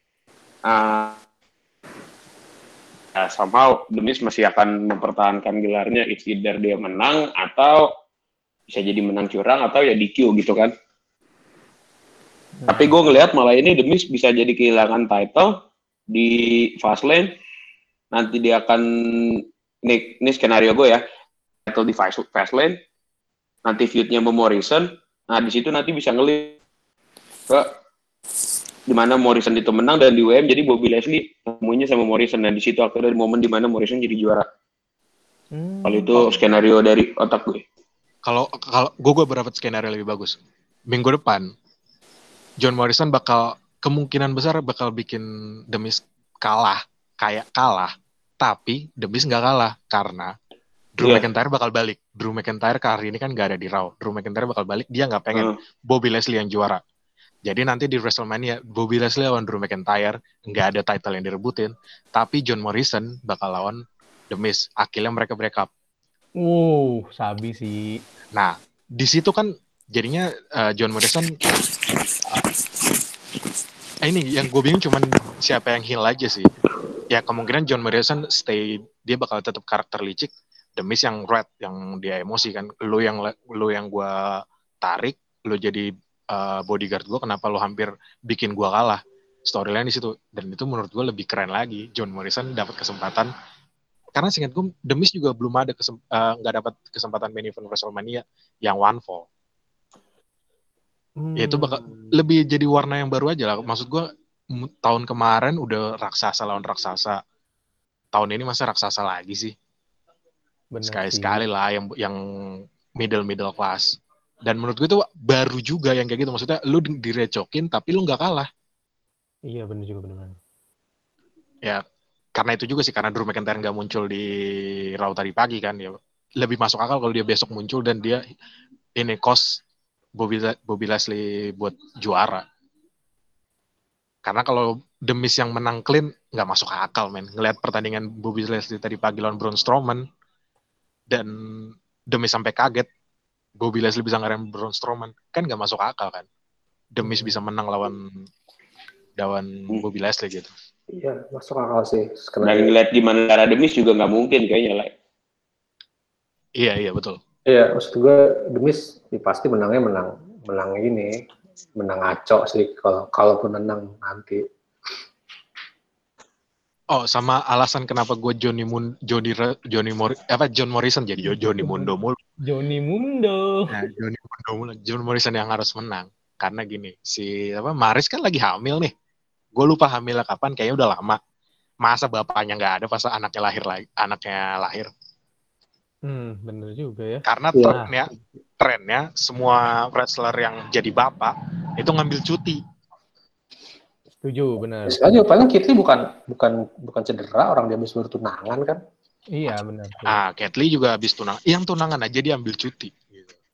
somehow The Miz masih akan mempertahankan gelarnya. It's either dia menang atau bisa jadi menang curang atau ya DQ gitu kan. Tapi gue ngelihat malah ini The Miz bisa jadi kehilangan title di Fastlane. Nanti dia akan ini skenario gue ya, title di Fastlane. Nanti feud-nya sama Morrison. Nah, di situ nanti bisa ngelit ke dimana Morrison itu menang dan di WM jadi Bobby Lashley temunya sama Morrison, dan di situ akhirnya momen dimana Morrison jadi juara. Kalau itu skenario dari otak gue. Kalau gue berapa skenario lebih bagus. Minggu depan John Morrison kemungkinan besar bakal bikin The Miz kalah, tapi The Miz nggak kalah karena Drew McIntyre bakal balik. Drew McIntyre hari ini kan nggak ada di Raw. Drew McIntyre bakal balik, dia nggak pengen Bobby Lashley yang juara. Jadi nanti di WrestleMania Bobby Lashley lawan Drew McIntyre, nggak ada title yang direbutin, tapi John Morrison bakal lawan The Miz. Akhirnya mereka break up. Sabi sih. Nah, di situ kan jadinya John Morrison ini yang gue bingung cuman siapa yang heel aja sih. Ya kemungkinan John Morrison stay, dia bakal tetap karakter licik. The Miz yang red, yang dia emosi kan. Lu yang gue tarik, lu jadi bodyguard gue, kenapa lu hampir bikin gue kalah? Storyline di situ, dan itu menurut gue lebih keren lagi. John Morrison dapat kesempatan, karena seingat gue The Miz juga belum ada nggak dapat kesempatan main event WrestleMania yang one fall. Ya itu bakal lebih jadi warna yang baru aja lah. Maksud gue tahun kemarin udah raksasa lawan raksasa, tahun ini masa raksasa lagi sih? Sekali-sekali lah yang middle class. Dan menurut gue itu baru juga yang kayak gitu. Maksudnya lu direcokin tapi lu nggak kalah. Iya benar juga, benar. Ya karena itu juga sih, karena Drew McIntyre nggak muncul di Raw tadi pagi kan, ya lebih masuk akal kalau dia besok muncul dan dia ini cost Bobby Lashley buat juara. Karena kalau The Miz yang menang clean nggak masuk akal, men. Ngelihat pertandingan Bobby Lashley tadi pagi lawan Braun Strowman dan The Miz sampai kaget Bobby Lashley bisa ngalahin Braun Strowman, kan nggak masuk akal kan. The Miz bisa menang lawan Bobby Lashley gitu. Iya, masuk akal sih. Dan ngeliat gimana cara The Miz juga nggak mungkin kayaknya lah. Iya betul. Iya, maksud gue The Miz pasti menang ini, menang ngaco sih kalaupun menang nanti. Oh, sama alasan kenapa gue John Morrison jadi Johnny Mundo mulu. Johnny Mundo. Nah, Johnny Mundo mulu. John Morrison yang harus menang. Karena gini, Maris kan lagi hamil nih. Gue lupa hamilnya kapan, kayaknya udah lama. Masa bapaknya nggak ada pas anaknya lahir. Bener juga ya. Karena trennya semua wrestler yang jadi bapak itu ngambil cuti. Setuju, benar. Sebenarnya paling Kitty bukan cedera, orang dia habis baru tunangan kan? Iya benar. Cat Lee juga habis tunangan. Yang tunangan aja dia ambil cuti. Gitu.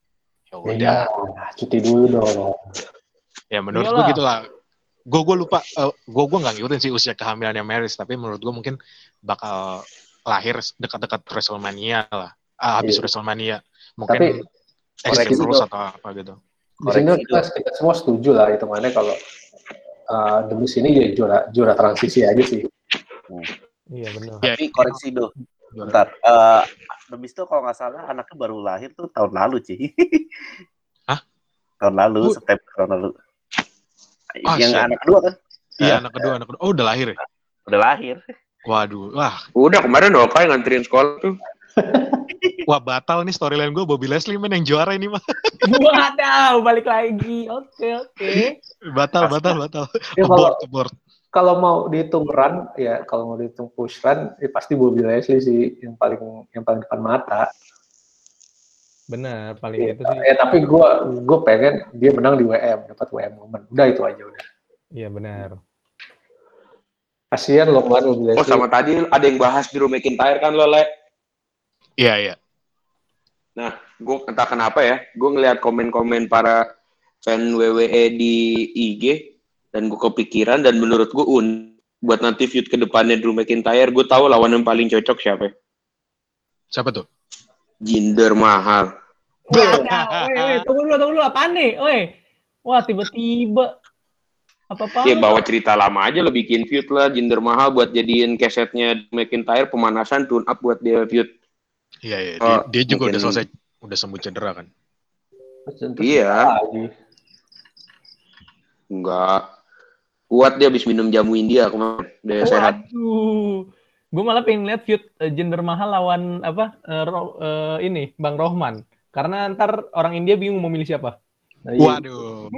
Ya Iya, udah. cuti dulu dong. Ya menurut Iyalah. gue gitulah. Gue lupa. Gue nggak ngikutin sih usia kehamilannya Maryse, tapi menurut gue mungkin bakal lahir dekat-dekat WrestleMania lah. Habis Iya. WrestleMania mungkin Tapi Extreme koreksi Rules dong. atau apa gitu. di sini Koreksi kita semua setuju lah hitungannya kalau The Miz ini jadi juara transisi aja sih. Iya benar. Ya, Tapi koreksi dong. Bentar. The Miz tuh kalau nggak salah anaknya baru lahir tuh tahun lalu, Ci. Hah? Tahun lalu, September tahun lalu. Yang shit. anak kedua kan? Iya, anak kedua. Oh, udah lahir ya? Udah lahir. Waduh, Udah kemarin Oka yang nganterin sekolah tuh. wah batal nih storyline gue. Bobby Lashley men yang juara ini mah. Waduh, balik lagi. Oke. Batal. Ya, Abort. kalau mau dihitung run, ya kalau mau dihitung push run, ya pasti Bobby Lashley sih yang paling depan mata. Benar, paling Ya, itu sih. tapi gue pengen dia menang di WM, dapat WM moment. Udah itu aja udah. Iya benar. Kasihan loh kemarin Bobby Lashley. Oh sama tadi ada yang bahas Drew McIntyre kan lo, Le? Iya. Nah, gue entah kenapa ya, gue ngeliat komen-komen para fan WWE di IG, dan gue kepikiran, dan menurut gue buat nanti feud ke depannya Drew McIntyre, gue tahu lawan yang paling cocok siapa. Siapa tuh? Jinder Mahal. Wah, tunggu dulu, apaan nih? Wah, tiba-tiba apa-apa? Ya bawa cerita lama aja lo bikin feud lah, Jinder Mahal buat jadiin kesetnya McIntyre pemanasan, tune up buat dia feud. Iya. Dia juga mungkin... udah selesai, udah sembuh cedera kan? Iya. Enggak. Kuat dia habis minum jamu India kemarin. Dia sehat. Waduh. Gue malah pengen lihat feud Jinder Mahal lawan ini Bang Rohman. Karena ntar orang India bingung mau milih siapa. Waduh.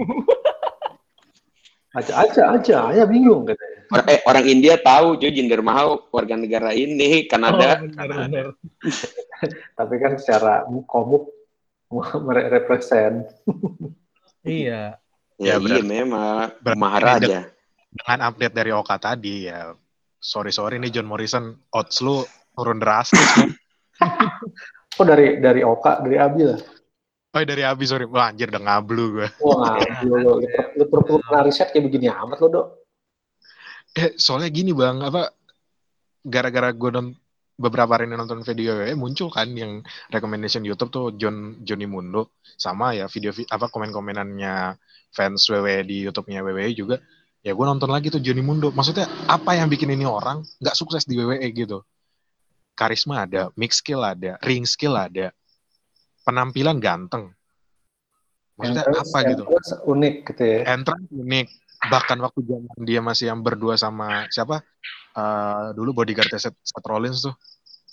Aja, ya bingung katanya. Orang India tahu cuy Jinder Mahal warga negara ini Kanada. Benar. Tapi kan secara komuk merepresent. Iya. Ya, berarti, iya memang Maharaja. Dengan update dari Oka tadi ya. Sorry nih John Morrison, odds lu turun drastis kan. Oh dari Oka, dari Abi lah. Oh dari Abi, sorry. Wah anjir udah ngablu gue. Wah ngablu lo. Lu perlu pernah riset kayak begini amat lo, Dok. Soalnya gini bang, gara-gara gue beberapa hari ini nonton video muncul kan yang recommendation YouTube tuh Johnny Mundo sama ya video komen-komenannya fans WWE di YouTube-nya WWE juga. Ya gue nonton lagi tuh Johnny Mundo. Maksudnya apa yang bikin ini orang nggak sukses di WWE gitu? Karisma ada, mix skill ada, ring skill ada, penampilan ganteng. Maksudnya apa gitu? Unik gitu ya. Entrance unik. Bahkan waktu zaman dia masih yang berdua sama siapa? Dulu bodyguard Seth Rollins tuh.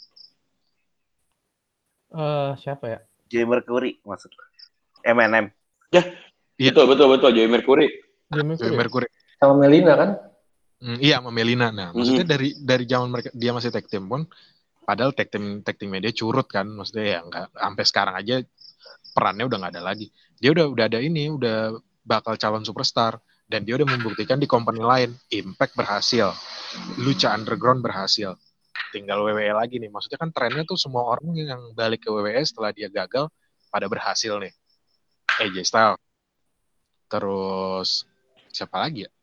Siapa ya? Joey Mercury maksud. M&M. Ya, betul Joey Mercury. Joey Mercury. Sama Melina kan? Iya, sama Melina. Nah, maksudnya dari zaman mereka dia masih tag team pun, padahal tag team media curut kan, maksudnya ya nggak sampai sekarang aja perannya udah nggak ada lagi. Dia udah ada ini, udah bakal calon superstar dan dia udah membuktikan di company lain. Impact berhasil, Lucha Underground berhasil, tinggal WWE lagi nih. Maksudnya kan trennya tuh semua orang yang balik ke WWE setelah dia gagal pada berhasil nih. AJ Styles, terus siapa lagi ya?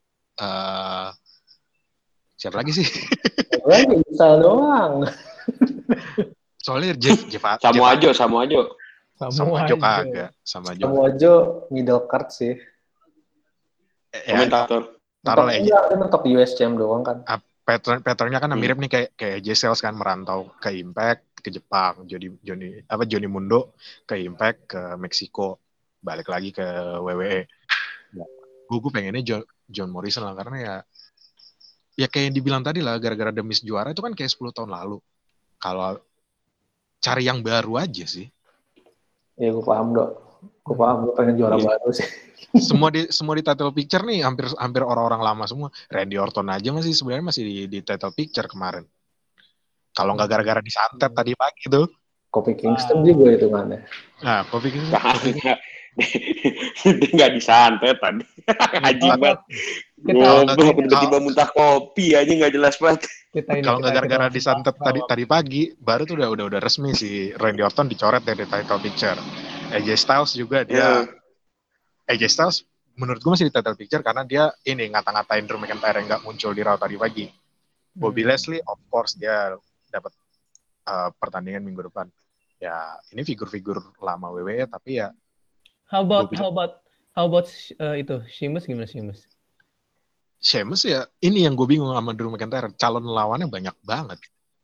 Siapa lagi sih? Lagi bisa doang. Soalnya Samoa Joe kagak. Samoa Joe middle card sih. Komentator. Taruh aja. Dia mentok US Champ doang kan. Patternnya kan mirip nih kayak AJ Styles kan merantau ke Impact ke Jepang. Johnny Mundo ke Impact ke Meksiko. Balik lagi ke WWE. Gue pengennya John Morrison lah karena ya kayak yang dibilang tadi lah gara-gara The Miz juara itu kan kayak 10 tahun lalu. Kalau cari yang baru aja sih. Ya gue paham Dok. Gue pengen juara baru sih. Semua di title picture nih hampir orang-orang lama semua. Randy Orton aja sebenarnya masih di title picture kemarin. Kalau nggak gara-gara disantet tadi pagi tuh. Kofi Kingston juga hitungannya. Nah, Kofi Kingston. Dia nggak disantet tadi. Haji banget. Goblok tiba-tiba muntah kopi aja nggak jelas banget. Kalau nggak gara-gara disantet tadi pagi, baru tuh udah resmi si Randy Orton dicoret dari title picture. AJ Styles juga dia. AJ Styles menurut gue masih di title picture karena dia ini ngata-ngatain Drew McIntyre yang nggak muncul di Raw tadi pagi. Bobby Lashley of course dia dapat pertandingan minggu depan. Ya ini figur-figur lama WWE tapi ya. How about itu Sheamus gimana Sheamus? Sheamus ya ini yang gue bingung sama Drew McIntyre, calon lawannya banyak banget.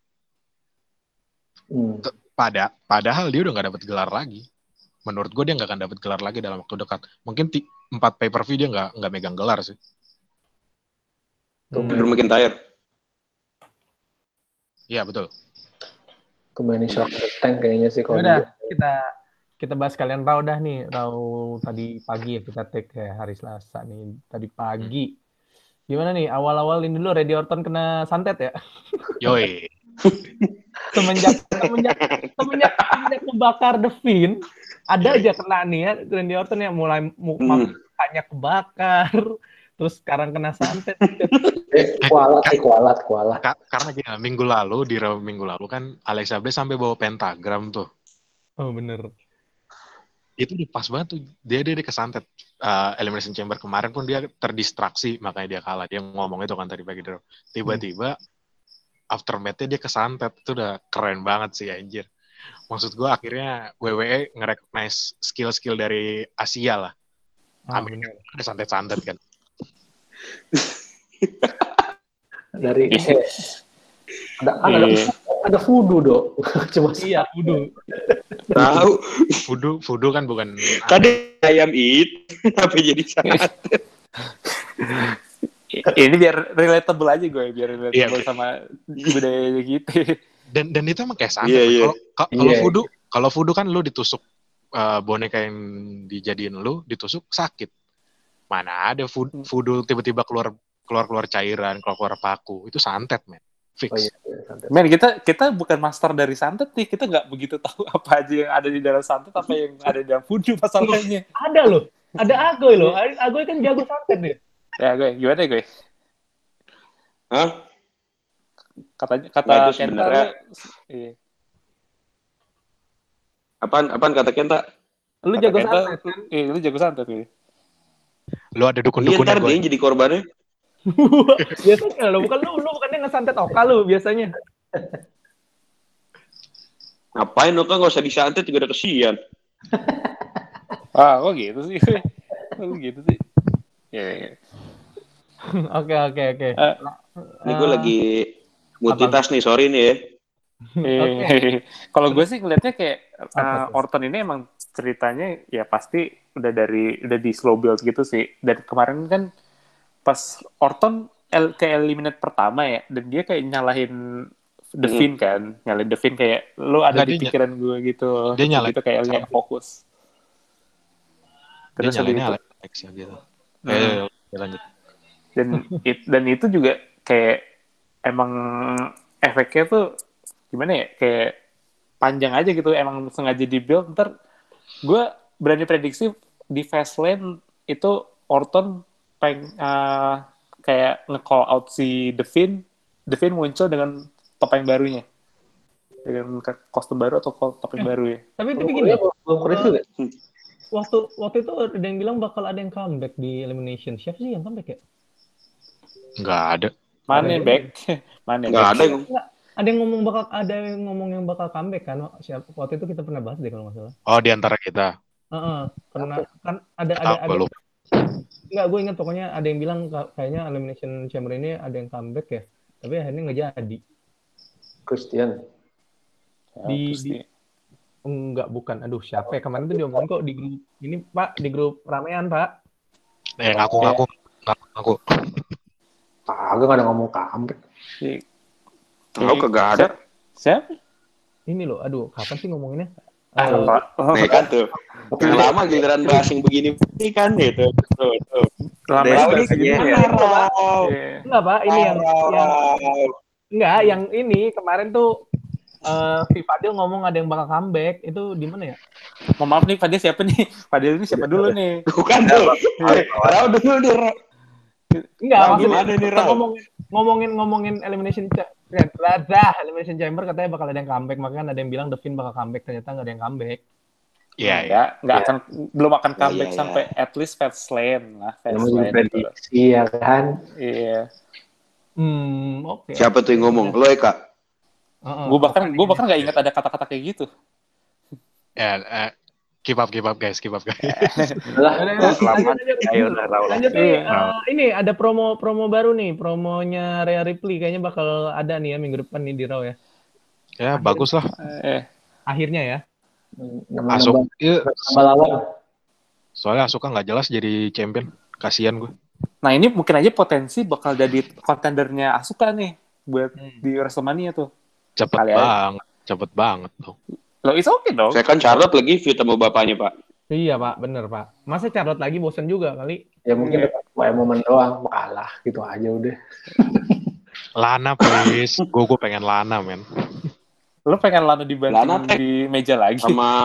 Padahal dia udah nggak dapat gelar lagi. Menurut gue dia nggak akan dapat gelar lagi dalam waktu dekat. Mungkin 4 pay-per-view dia nggak megang gelar sih. Drew McIntyre. Iya betul. Kemarin shock tank kayaknya sih kalau Udah kita bahas kalian Raw dah nih. Raw tadi pagi ya kita take kayak hari Selasa nih. Tadi pagi. Gimana nih awal-awal ini dulu Randy Orton kena santet ya? Yoi. semenjak kebakar The Fiend, ada aja kena nih ya Randy Orton yang mulai mukanya kebakar, terus sekarang kena santet. Kualat. Karena gini, minggu lalu kan Alexa Bliss sampai bawa pentagram tuh. Oh bener. Itu udah pas banget tuh. Dia kesantet. Elimination Chamber kemarin pun dia terdistraksi, makanya dia kalah. Dia ngomong itu kan tadi pagi. Tiba-tiba aftermath-nya dia kesantet. Itu udah keren banget sih anjir. Maksud gue akhirnya WWE nge-recognize skill-skill dari Asia lah. Amin. Ada santet-santet kan. Dari ada voodoo dong. Cuma iya voodoo. Tahu. Voodoo kan bukan Tadi ayam tapi jadi santet. Ini biar relatable aja gue, biar relatable sama budaya gitu. Dan itu emang kayak santet. Kalau voodoo kan lu ditusuk boneka yang dijadiin lu ditusuk sakit. Mana ada voodoo tiba-tiba keluar cairan, keluar paku. Itu santet, men. Fix. Men, kita bukan master dari santet nih. Kita nggak begitu tahu apa aja yang ada di dalam santet, apa yang ada di dalam voodoo masalahnya. Ada loh. Ada Agoy loh. Agoy kan jago santet deh. Ya, gue. Gimana gue? Hah? Kata itu Kenta. sebenarnya. Iya. Apaan kata Kenta? Lu jago santet kan? Iya, lu jago santet gue. Lu ada dukun-dukunnya Ntar dia jadi korbannya. Biasanya lo bukannya ngesantet Oka lu biasanya. Ngapain Oka nggak usah disantet juga udah kesian. Kok gitu sih? Ya. Oke. Ini gue lagi multitask nih, sorry nih ya. Kalau gue sih ngeliatnya kayak Orton ini emang ceritanya ya pasti udah di slow build gitu sih. Dan kemarin kan pas Orton ke eliminate pertama ya, dan dia kayak nyalahin The Fiend kan, nyalahin The Fiend kayak lo ada di pikiran gue gitu. Dia nyalahin gitu kayak yang fokus. Terus dia nyalahinnya Alex ya gitu. Lanjut. Dan itu juga kayak emang efeknya tuh gimana ya, kayak panjang aja gitu, emang sengaja di-build. Ntar gue berani prediksi di Fastlane itu Orton kayak nge-call out si The Fiend muncul dengan topeng barunya, dengan kostum baru atau topeng baru ya. Tapi gini, waktu itu ada yang bilang bakal ada yang comeback di Elimination. Siapa sih yang comeback ya? Nggak ada. Mana back? Nggak ada yang ada yang ngomong yang bakal comeback kan? Waktu itu kita pernah bahas deh kalau nggak salah. Oh, di antara kita. Karena kan ada nggak, gue ingat pokoknya ada yang bilang kayaknya Elimination Chamber ini ada yang comeback ya, tapi akhirnya nggak jadi. Christian. Enggak, bukan. Aduh, siapa ya? Kemarin tuh diomongin kok di grup ini, Pak, di grup ramean, Pak. Ngaku. Kagak ada ngomong comeback. Tahu kagak ada. Siapa? Ini loh, aduh, kapan sih ngomonginnya? Nih kan tuh. Yang lama giliran bahas yang begini kan gitu. Tuh. Lama ini Enggak, Pak, ini yang ini kemarin tuh Fadil ngomong ada yang bakal comeback. Itu di mana ya? Mohon maaf nih, Fadil siapa nih? Fadil ini siapa dulu nih? Bukan tuh. Tahu dulu nih. Enggak, maksudnya ngomongin Elimination Chamber katanya bakal ada yang comeback, makanya ada yang bilang The Fiend bakal comeback, ternyata nggak ada yang comeback. Iya. Nggak akan, belum akan Iya, comeback iya. sampai at least Fastlane lah. Namanya juga Fastlane gitu. prediksi ya kan. Iya. Oke. Siapa tuh yang ngomong? Lo Eka? Gue bahkan nggak ingat ada kata-kata kayak gitu. Ya, keep up guys. Lah, Lanjut nih, Iya. ini ada promo baru nih, promonya Rhea Ripley kayaknya bakal ada nih ya minggu depan nih di Raw ya. Ya bagus lah. Akhirnya ya. Asuk, iya. nambah lawan. Soalnya Asuka nggak jelas jadi champion. Kasian gue. Nah ini mungkin aja potensi bakal jadi kontendernya Asuka nih buat di WrestleMania tuh. Cepet banget tuh. Loh, it's okay dong. Saya kan Charlotte lagi feud sama bapaknya, Pak. Iya Pak, bener Pak. Masa Charlotte lagi bosen juga kali. Ya mungkin kayak momen doang, kalah gitu aja udah. Lana please. Gue pengen Lana men. Lo pengen Lana dibanting Lana di meja lagi? Sama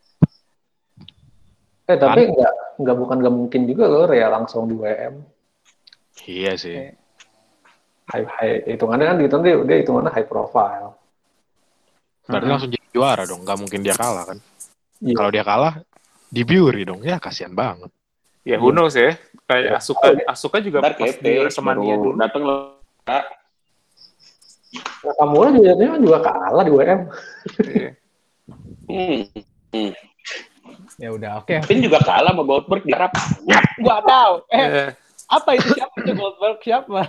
Tapi nggak mungkin juga loh Rhea langsung di WM. Iya sih. High hitungannya kan gitu dia hitungannya high profile. Berarti langsung jadi juara dong. Gak mungkin dia kalah kan. Iya. Kalau dia kalah, dibiuri dong. Ya kasihan banget. Ya who knows ya. Kayak Asuka juga ntar pas di WrestleMania dulu. dateng lo. Nakamura juga kalah di WM. Iya. Ya udah, oke. Finn juga kalah sama Goldberg di Arab. Gua tahu. Iya. Apa itu siapa itu Goldberg siapa?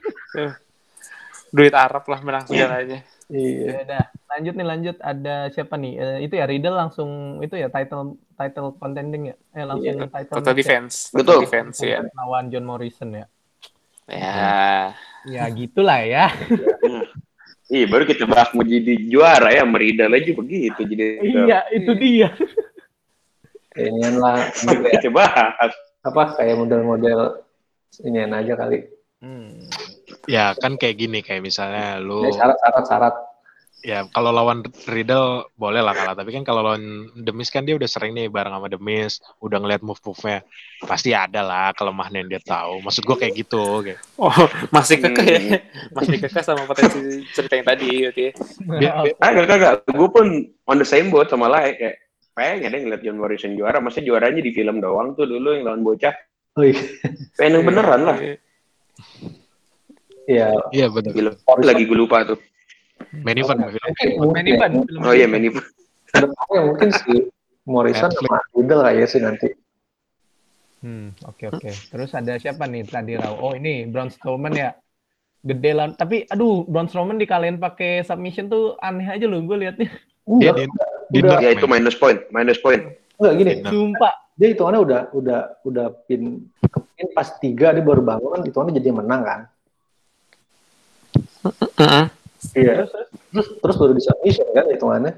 Duit Arab lah menang segalanya. Iya. Ya udah, lanjut ada siapa nih? Itu ya Riddle langsung itu ya title contending ya. Langsung title Total match ya. defense. Betul. Total defense ya. Lawan John Morrison ya. Ya. Ya gitulah ya. Iya, baru kita bahas mau jadi juara ya, Meridal aja begitu jadi. Iya, itu dia. Kayaknya lah Kita bahas. kayak model-model inian aja kali. Ya kan kayak gini. Kayak misalnya lu. Syarat. Ya kalau lawan Riddle boleh lah kalah. Tapi kan kalau lawan The Miz kan dia udah sering nih bareng sama The Miz. Udah ngeliat move-nya. Pasti ada lah kelemahan yang dia tahu. Maksud gue kayak gitu. Kayak. Oh, masih kekeh ya. Masih kekeh sama potensi cerita yang tadi. Okay. Kagak. Gue pun on the same boat sama lah kayak pengen deh ngeliat John Morrison juara. Maksudnya juaranya di film doang tuh dulu yang lawan bocah. Oh iya. Pengen yang beneran lah. Iya, betul. Gila. Lagi gue lupa tuh. Main event. Oh iya, main event. Kedepannya mungkin si Morrison sama Riddle kayak sih nanti. Oke. Terus ada siapa nih tadi Raw? Oh ini Braun Strowman ya. Gede lah. Tapi aduh, Braun Strowman dikalahin pakai submission tuh aneh aja loh gue liatnya. Enggak. Ya itu minus point. Enggak gini. Sumpah. Dia hitungannya udah pin pas 3 dia baru bangun kan hitungannya jadi menang kan. Iya. Terus baru di submission kan hitungannya.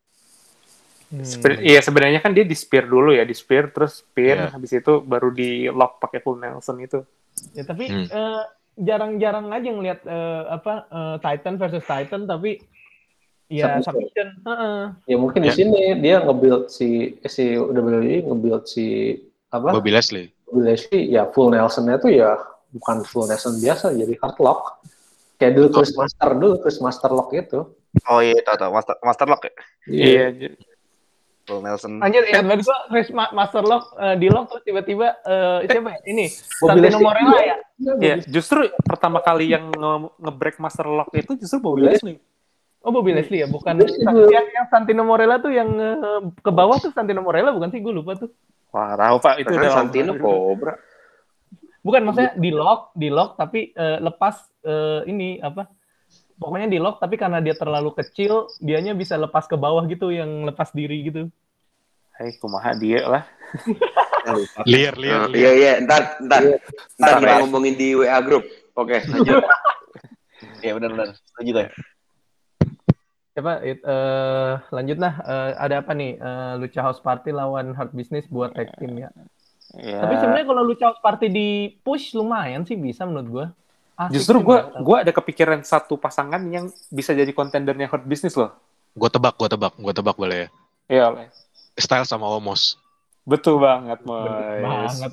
Iya sebenarnya kan dia di spear dulu ya, di spear terus pin, habis itu baru di lock pakai full Nelson itu. Ya tapi jarang-jarang aja ngelihat Titan versus Titan tapi ya submission. Ya mungkin di sini dia nge-build si WWE nge-build si Bobby Lashley ya full Nelson-nya tuh ya bukan full Nelson biasa jadi hard lock. Kayak dulu Chris Master Lock itu. Oh iya, tahu Master Lock ya. Iya. Full Nelson. Anjir, ingat banget gua Chris Master Lock di lock terus tiba-tiba siapa ya? Ini Santino Morella ya? Iya, justru pertama kali yang nge-break Master Lock itu justru Bobby Lashley. Oh, Bobby Lashley ya, bukan yang Santino Morella tuh yang ke bawah tuh Santino Morella bukan sih? Gue lupa tuh. Wah, tahu Pak, itu udah Santino Cobra. Bukan, maksudnya di lock tapi lepas ini apa? Pokoknya di lock tapi karena dia terlalu kecil, dianya bisa lepas ke bawah gitu, yang lepas diri gitu. Hai, kumaha dia lah. Liar. Iya, ntar kita ngomongin di WA group. Oke, lanjut. Iya benar. Setuju kan? Siapa? Lanjut lah. Ada apa nih? Lucha House Party lawan Hard Business buat tag team ya. Ya. Tapi sebenarnya kalau Lucha House Party di push lumayan sih bisa menurut gue. Justru gue ada kepikiran satu pasangan yang bisa jadi kontendernya Hard Business loh. Gue tebak boleh ya. Iya oleh. Style sama Omos. Betul banget, Moy. Banget.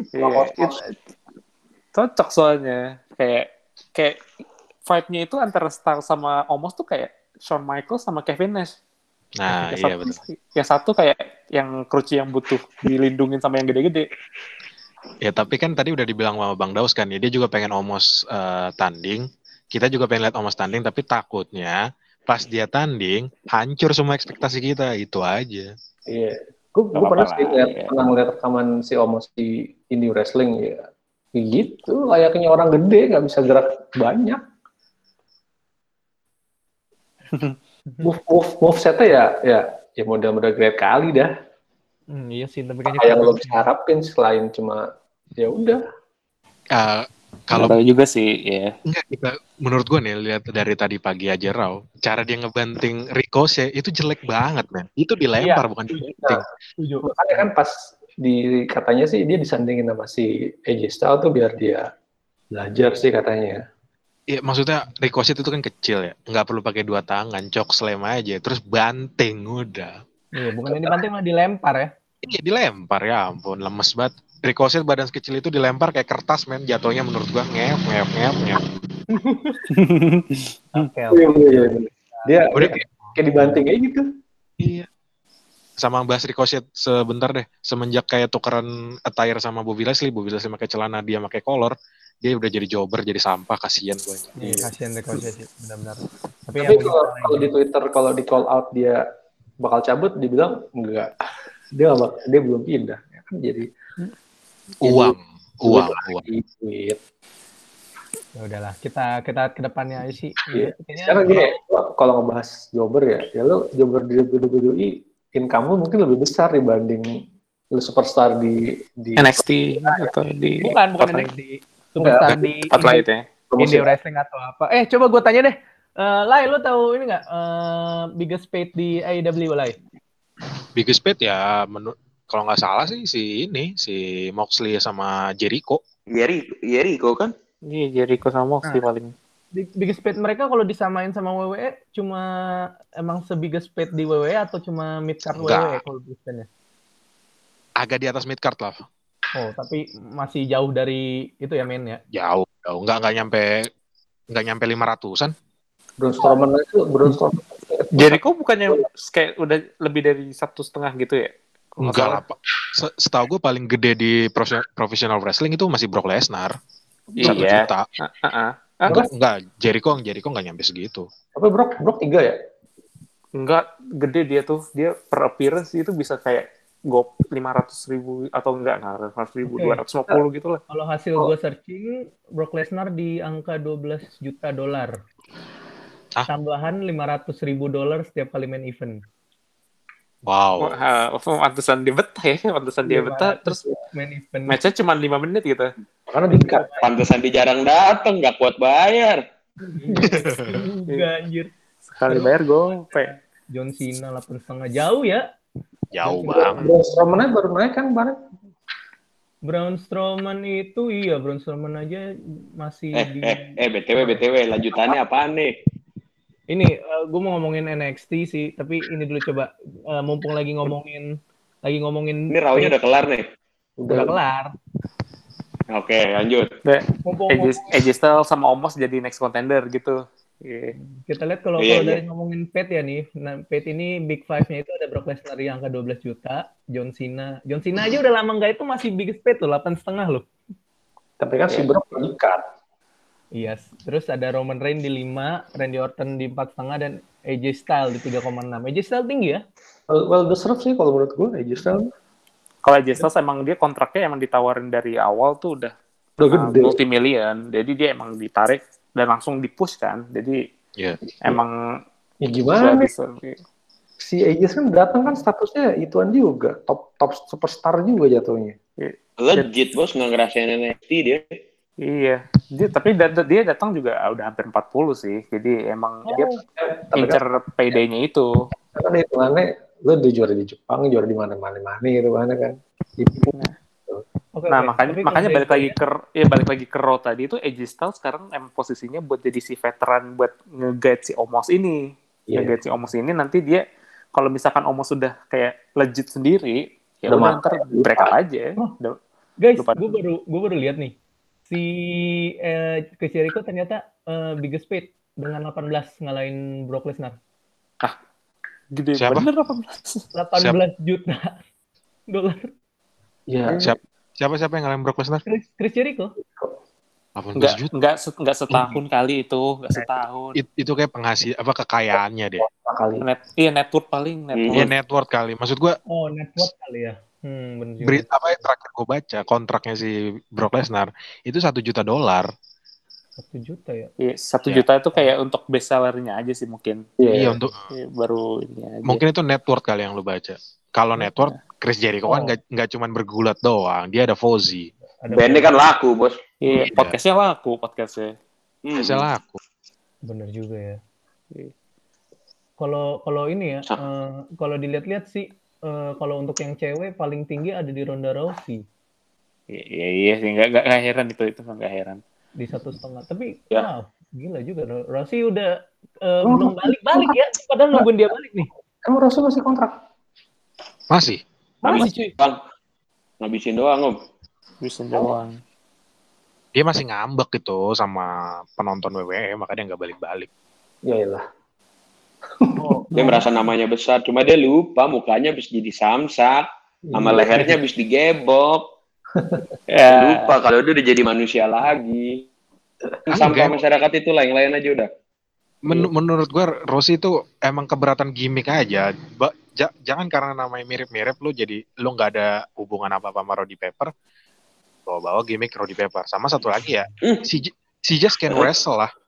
Cocok soalnya. Kayak fight-nya itu antara Style sama Omos tuh kayak Shawn Michaels sama Kevin Nash. Nah, Yang iya satu, betul. yang satu kayak yang Cruci yang butuh dilindungin sama yang gede-gede. Ya tapi kan tadi udah dibilang sama Bang Daus kan ya, dia juga pengen Omos tanding. Kita juga pengen lihat Omos tanding, tapi takutnya pas dia tanding hancur semua ekspektasi kita, itu aja. Iya. Gue Gak apa-apa pernah lah. sih Iya. pernah ngeliat rekaman si Omos di Indie Wrestling ya. Gitu, layaknya orang gede nggak bisa gerak banyak. Move setnya ya model-model great kali dah. Iya sih, tapi Apa kayaknya yang lo kurang. bisa harapin selain cuma ya udah. Eh, Kalau kalau juga sih, ya. enggak kita, menurut gue nih lihat dari tadi pagi aja Raw, cara dia ngebanting Ricochet itu jelek banget men. Itu dilempar bukan dibanting. Setuju. Makanya kan pas katanya sih dia disandingin sama si AJ Styles tuh biar dia belajar sih katanya. Iya maksudnya Ricochet itu kan kecil ya, nggak perlu pakai dua tangan, cok slam aja, terus banting udah. Iya, bukan yang dibanting malah dilempar ya. Iya dilempar ya ampun, lemes banget. Ricochet badan sekecil itu dilempar kayak kertas men, jatuhnya menurut gua ngep ngep ngep ngep. Oke. Iya. Dia Udah kayak dibanting kayak gitu. iya. Sama bahas Ricochet sebentar deh. Semenjak kayak tukeran attire sama Bobby Leslie pakai celana, dia pakai kolor, dia udah jadi jobber, jadi sampah, kasihan gue. Iya, kasihan Ricochet sih, benar-benar. Tapi Tapi ya kalau di Twitter kalau di call out dia bakal cabut, dibilang enggak. Dia belum pindah. Ya kan jadi Uang. Duit. ya udahlah, kita ke depannya aja sih. Iya. Kayaknya Sekarang gini, kalau ngebahas jobber ya lo jobber di WWE income lo mungkin lebih besar dibanding lo superstar di NXT atau di bukan Spotlight. di superstar di Spotlight ya. Indie Wrestling atau apa. Coba gue tanya deh. Lai, lo tahu ini nggak biggest paid di AEW, Lai? Biggest paid ya kalau nggak salah sih si Moxley sama Jericho. Jericho kan? Iya, Jericho sama Moxley paling. Biggest paid mereka kalau disamain sama WWE cuma emang se-biggest paid di WWE atau cuma mid card WWE kalau biasanya? Agak di atas mid card lah. Oh, tapi masih jauh dari itu ya men ya? Jauh. Nggak nyampe 500-an. Braun Strowman. Jericho bukannya kayak udah lebih dari 1,5 gitu ya? Enggak lah, Pak. Setahu gue paling gede di professional wrestling itu masih Brock Lesnar. 1 juta. Enggak, Jericho nggak nyampe segitu. Tapi Brock 3 ya? Enggak, gede dia tuh. Dia per appearance itu bisa kayak 500.000 atau enggak 500.000, 250 gitu lah. Kalau hasil gue searching, Brock Lesnar di angka $12 juta. Tambahan $500,000 setiap kali main event. Wow. Pantesan dia betah ya, terus main event. match-nya cuma 5 menit gitu. Karena di-cut. Pantesan di jarang dateng, nggak kuat bayar. Enggak anjir. Sekali bayar gope. John Cena 8,5 jauh ya. Jauh banget. Braun Strowman baru naik kan kemarin. Braun Strowman itu Braun Strowman aja masih BTW lanjutannya apaan nih? Ini gue mau ngomongin NXT sih, tapi ini dulu coba mumpung lagi ngomongin Ini rawnya udah kelar nih. Udah kelar. Oke, lanjut. AJ Styles sama Omos jadi next contender gitu. Kita lihat kalau dari ngomongin paid ya nih. Nah, paid ini Big Five-nya itu ada Brock Lesnar yang angka 12 juta, John Cena aja udah lama nggak itu masih biggest paid tuh 8,5 loh. Tapi kan si Brock di-cut. Iya, terus ada Roman Reigns di 5, Randy Orton di 4,5 dan AJ Styles di 3,6. AJ Styles tinggi ya? Well deserved sih kalau menurut gue AJ Styles. Kalau AJ Styles emang dia kontraknya emang ditawarin dari awal tuh udah gede. Multi-million. Jadi dia emang ditarik dan langsung di-push kan. Jadi emang ya gimana nih? Si AJ kan datang kan statusnya ituan juga, top superstar juga jatuhnya. Legit bos, nggak ngerasain NXT dia. Iya, tapi dia datang juga udah hampir 40 sih. Jadi emang dia incer payday-nya itu. Karena hitungannya lo udah juara di Jepang, juara di mana-mana gitu kan. Nah, makanya balik lagi ke Raw tadi itu AJ Styles sekarang emang posisinya buat jadi si veteran buat nge-guide si Omos ini. Nge-guide si Omos ini nanti dia kalau misalkan Omos sudah kayak legit sendiri, ya udah ntar break up aja. Guys, gue baru lihat nih. Si Chris Jericho ternyata biggest paid dengan 18 ngalahin Brock Lesnar. Gede Siapa? bener 18. 18 juta dolar. Iya. Siapa yang ngalahin Brock Lesnar? Chris Jericho. 18 juta. Enggak setahun kali itu, enggak setahun. Itu kayak kekayaannya deh. Kali. Net worth paling, net Hmm. Iya worth. net worth kali. Maksud gue Oh, net worth kali ya. Bener juga. apa yang terakhir gue baca kontraknya si Brock Lesnar itu $1 juta. 1 juta ya. Iya, 1 Ya. juta itu kayak untuk best sellernya aja sih mungkin. Iya untuk Iya, baru ini aja. mungkin itu net worth kali yang lu baca. Kalau net worth Chris Jericho kan nggak cuma bergulat doang, dia ada Fozzy. Bandnya kan laku, bos. Iya, Iya. podcastnya laku podcastnya. Biasa laku. Bener juga ya. Iya. Kalau ini ya, kalau dilihat-lihat sih, kalau untuk yang cewek paling tinggi ada di Ronda Rousey Iya sih, nggak heran itu nggak heran. di 1,5. Tapi Ya. wow, gila juga. Rousey udah belum balik ya, padahal nungguin dia balik nih. Emang Rousey masih kontrak? Masih. Masih cuy. Bang, ngabisin doang, Om. Bisa doang. Dia masih ngambek gitu sama penonton WWE, makanya dia nggak balik-balik. Iyalah. Dia merasa namanya besar, cuma dia lupa mukanya habis jadi samsak, sama lehernya habis digebok. Ya, Lupa kalau dia udah jadi manusia lagi. Sampah masyarakat itulah, yang lain aja udah. Menurut gue Rousey itu emang keberatan gimmick aja. Jangan karena namanya mirip-mirip lu jadi lu nggak ada hubungan apa-apa sama Roddy Piper. Bawa-bawa gimmick Roddy Piper. Sama satu lagi ya, si just can wrestle lah.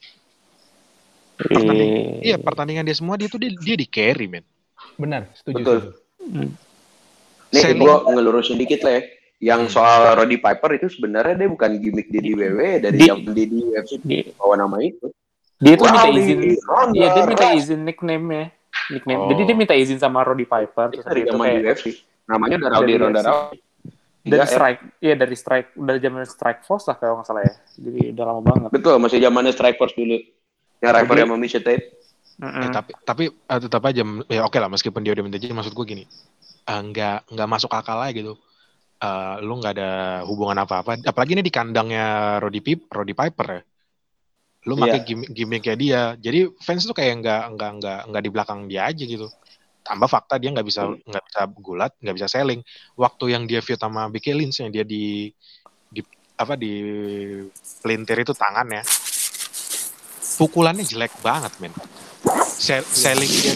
Pertandingan dia semua dia di carry, men. Benar, setuju. Betul. Nih, gue ngelurusin dikit lah ya. Yang soal Roddy Piper itu sebenarnya dia bukan gimmick dia di WWE dari yang di UFC bawa nama itu. Dia tuh minta izin. Iya, dia minta izin nickname-nya. Jadi dia minta izin sama Roddy Piper. Terus Dari itu zaman kayak di UFC. Namanya udah Ronda Rousey. Dari zaman Strike Force lah kalau nggak salah ya. Jadi udah lama banget. Betul, masih zamannya Strike Force dulu. Yang rival yang Misha Tate. Tapi tetap aja ya oke lah meskipun dia udah minta izin, maksud gue gini. Nggak masuk akal aja gitu. Lu nggak ada hubungan apa-apa, apalagi ini di kandangnya Roddy Piper ya. Lu pakai gimmicknya dia, jadi fans tuh kayak nggak di belakang dia aja gitu. Tambah fakta dia nggak bisa gulat, nggak bisa selling. Waktu yang dia feud sama Becky Lynch yang dia di pelintir itu tangannya, pukulannya jelek banget, men. Selling dia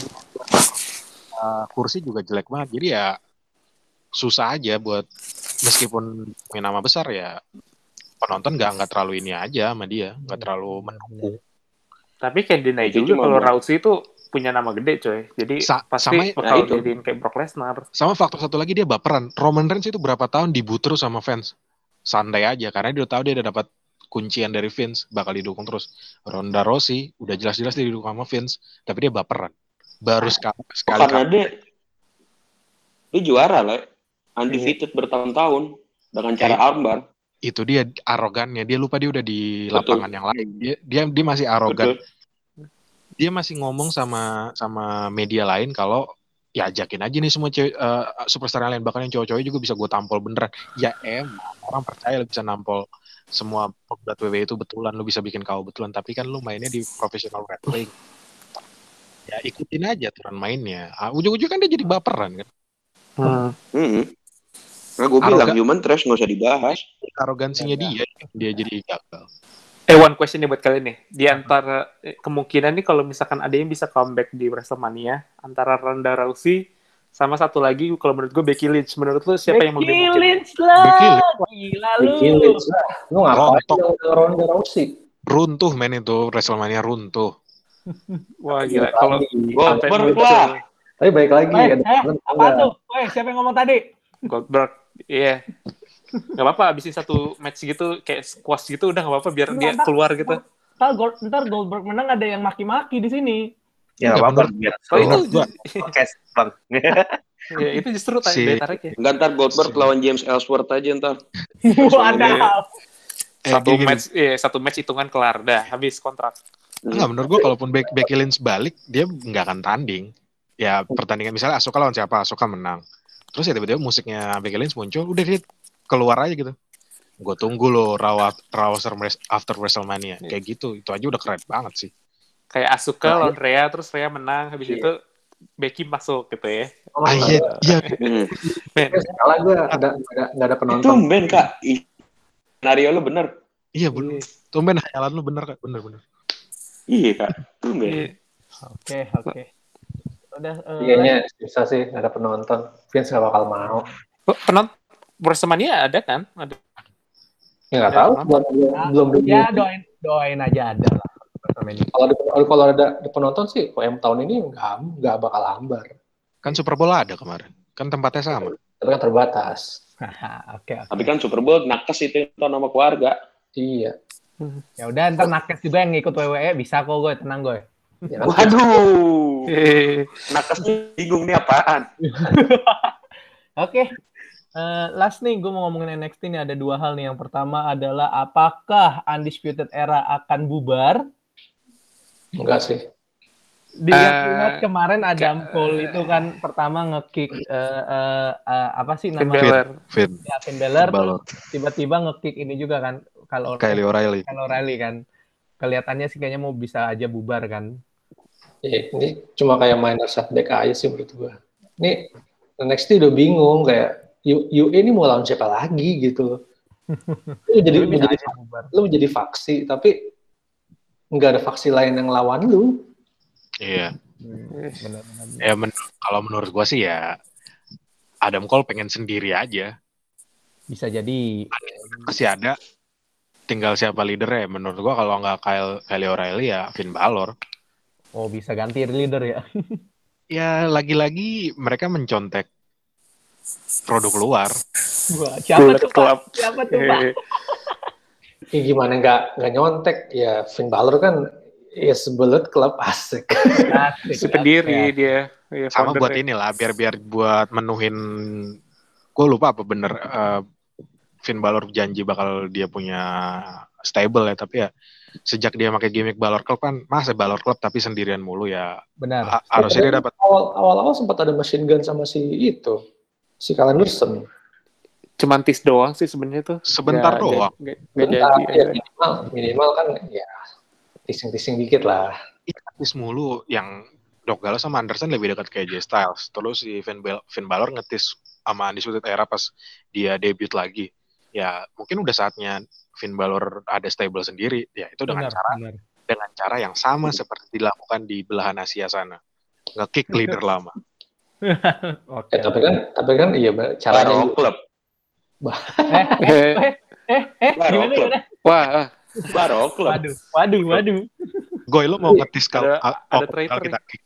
kursi juga jelek banget, jadi ya susah aja buat meskipun punya nama besar ya penonton nggak terlalu ini aja sama dia, nggak terlalu mendukung. Tapi kayak dinai juga kalau Rousey itu punya nama gede coy, jadi pasti bakal jadiin kayak Brock Lesnar. Sama faktor satu lagi dia baperan. Roman Reigns itu berapa tahun dibut terus sama fans, santai aja karena dia udah tahu dia udah dapat kuncian dari Vince, bakal didukung terus. Ronda Rousey udah jelas-jelas dia didukung sama Vince, tapi dia baperan. Baru sekali karena dia juara lah, undefeated bertahun-tahun dengan cara armbar. Itu dia arogannya, dia lupa dia udah di lapangan yang lain. Dia masih arogan. Betul. Dia masih ngomong sama media lain kalau ya ajakin aja nih semua superstar lain, bahkan yang cowok-cowok juga bisa gue tampol beneran. Ya orang percaya lu bisa nampol semua pegulat WWE itu betulan, lu bisa bikin KO betulan, tapi kan lu mainnya di professional wrestling. Ya ikutin aja aturan mainnya. Ujung-ujung kan dia jadi baperan kan. Nah, gue bilang human trash nggak usah dibahas. Arogansinya dia jadi gagal. One question nih buat kalian nih. Di antara kemungkinan nih kalau misalkan ada yang bisa comeback di WrestleMania antara Ronda Rousey sama satu lagi, kalau menurut gue Becky Lynch. Menurut lu siapa yang lebih mungkin? Becky Lynch lah. Gila lu. Becky Lynch lah. Lu ngapain Ronda Rousey? Runtuh men itu WrestleMania runtuh. Wah gila. Kalau Goldberg lah. Tapi baik lagi. Apa tuh? Siapa yang ngomong tadi? Goldberg. Iya. Gak apa-apa, abisin satu match gitu, kayak squash gitu, udah gak apa-apa biar dia keluar gitu. Ntar Goldberg menang ada yang maki-maki di sini. Ya gak apa-apa. Itu podcast bang. Ya itu justru daya tariknya. Enggak, ntar Goldberg lawan James Ellsworth aja ntar. Wadah. Satu match hitungan kelar, dah habis kontrak. Enggak, menurut gue kalaupun Becky Lynch balik, dia nggak akan tanding. Ya pertandingan misalnya Asuka lawan siapa, Asuka menang. Terus ya tiba-tiba musiknya Becky Lynch muncul, udah dia keluar aja gitu. Gue tunggu loh Raw after WrestleMania. Kayak gitu, itu aja udah keren banget sih. Kayak Asuka lawan Rhea, terus Rhea menang, habis itu Becky masuk gitu ya. Iya. Men, Salah gue nggak ada Itu penonton. Ben Kak. Skenario lu bener. Iya bener. Tumben hayalan lu bener Kak, bener. Iya Kak. Itu Ben. iya. Oke. Udah Kayaknya susah sih nggak ada penonton. Vince nggak bakal mau. Penonton WrestleMania ada kan? Ada. Ya nggak tahu. Belum. Ya doain aja ada lah. Kalau ada penonton sih, OM tahun ini nggak bakal hambar. Kan Super Bowl ada kemarin. Kan tempatnya sama. Tapi kan terbatas. Oke. Tapi kan Super Bowl nakes itu nonton sama keluarga. Iya. Ya udah ntar nakes juga yang ngikut WWE bisa kok gue, tenang gue. Ya kan? Waduh. Nakesnya bingung nih apaan. Oke. Last nih gue mau ngomongin NXT nih, ada dua hal nih. Yang pertama adalah apakah Undisputed Era akan bubar? Enggak sih. Dilihat kemarin Adam Cole itu kan pertama nge-kick apa sih nama Finn Balor, tiba-tiba nge-kick ini juga kan kalau Kyle O'Reilly kan kelihatannya sih kayaknya mau bisa aja bubar kan. Ini cuma kayak minor setback aja sih menurut gua. Ini NXT udah bingung kayak UE ini mau lawan siapa lagi gitu. Lu menjadi faksi tapi nggak ada faksi lain yang lawan lu. Iya. Ya kalau menurut gua sih ya Adam Cole pengen sendiri aja. Bisa jadi. Masih ada. Tinggal siapa leadernya. Menurut gua kalau nggak Kyle O'Reilly ya Finn Balor. Oh bisa ganti leader ya? Ya lagi-lagi mereka mencontek produk luar. Wah, siapa tuh Pak? Ya gimana nggak nyontek ya Finn Balor kan ya Bullet Club asik. Pendiri dia. Ya, sama buat inilah biar buat menuhin. Gue lupa apa bener Finn Balor janji bakal dia punya stable ya, tapi ya sejak dia pakai gimmick Balor Club kan masa Balor Club tapi sendirian mulu ya. Benar. Harusnya dia dapat. Awal-awal sempat ada machine gun sama si Kyle Anderson. Cuman tis doang sih sebenarnya tuh. Sebentar doang. Minimal kan ya tising-tising dikit lah. Tis mulu yang Doc Gallows sama Anderson lebih dekat ke AJ Styles. Terus si Finn Balor ngetis sama Undisputed Era pas dia debut lagi. Ya mungkin udah saatnya Finn Balor ada stable sendiri. Ya itu dengan cara yang sama seperti dilakukan di belahan Asia sana. Nge-kick leader lama. Okay. Tapi kan iya caranya Klub. Gimana? Wah, Baro Club. Waduh. Goy lo mau ngetis kalau ada traitor kita kick.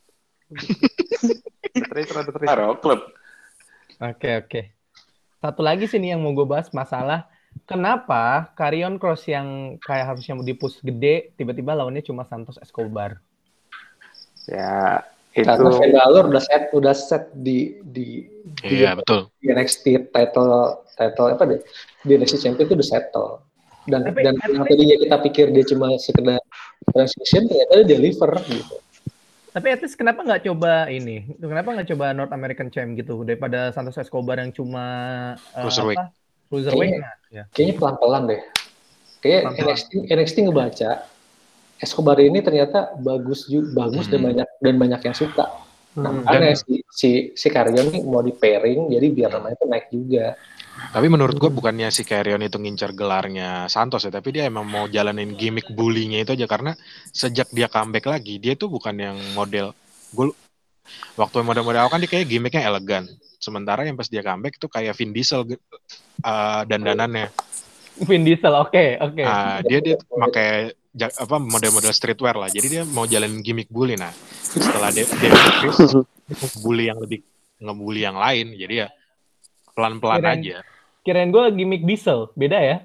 Ada traitor. Baro Club. Oke. Satu lagi sih nih yang mau gue bahas masalah kenapa Karrion Kross yang kayak harusnya mau di-push gede tiba-tiba lawannya cuma Santos Escobar. Ya, itu karena Finn Balor udah set di betul. Di NXT title apa deh? Di NXT Champion itu udah settle. Dan tadinya kita pikir dia cuma sekedar transition, ternyata dia deliver gitu. Tapi at least kenapa nggak coba ini? Kenapa nggak coba North American Champ gitu daripada Santos Escobar yang cuma cruiserweight? Kayaknya pelan-pelan deh. Kayak NXT ngebaca Escobar ini ternyata bagus dan banyak yang suka. Nah, karena si Karrion ini mau di pairing, jadi biar namanya itu naik juga. Tapi menurut gue bukannya si Karrion itu ngincar gelarnya Santos ya, tapi dia emang mau jalanin gimmick bully-nya itu aja, karena sejak dia comeback lagi, dia tuh bukan yang model, waktu model-model awal kan dia kayak gimmicknya elegan, sementara yang pas dia comeback itu kayak Vin Diesel dandanannya. Vin Diesel, oke. Dia pakai model-model streetwear lah, jadi dia mau jalanin gimmick bully. Nah setelah dia bully yang lebih ngebully yang lain, jadi ya pelan-pelan aja. Kirain gue gimmick Diesel, beda ya?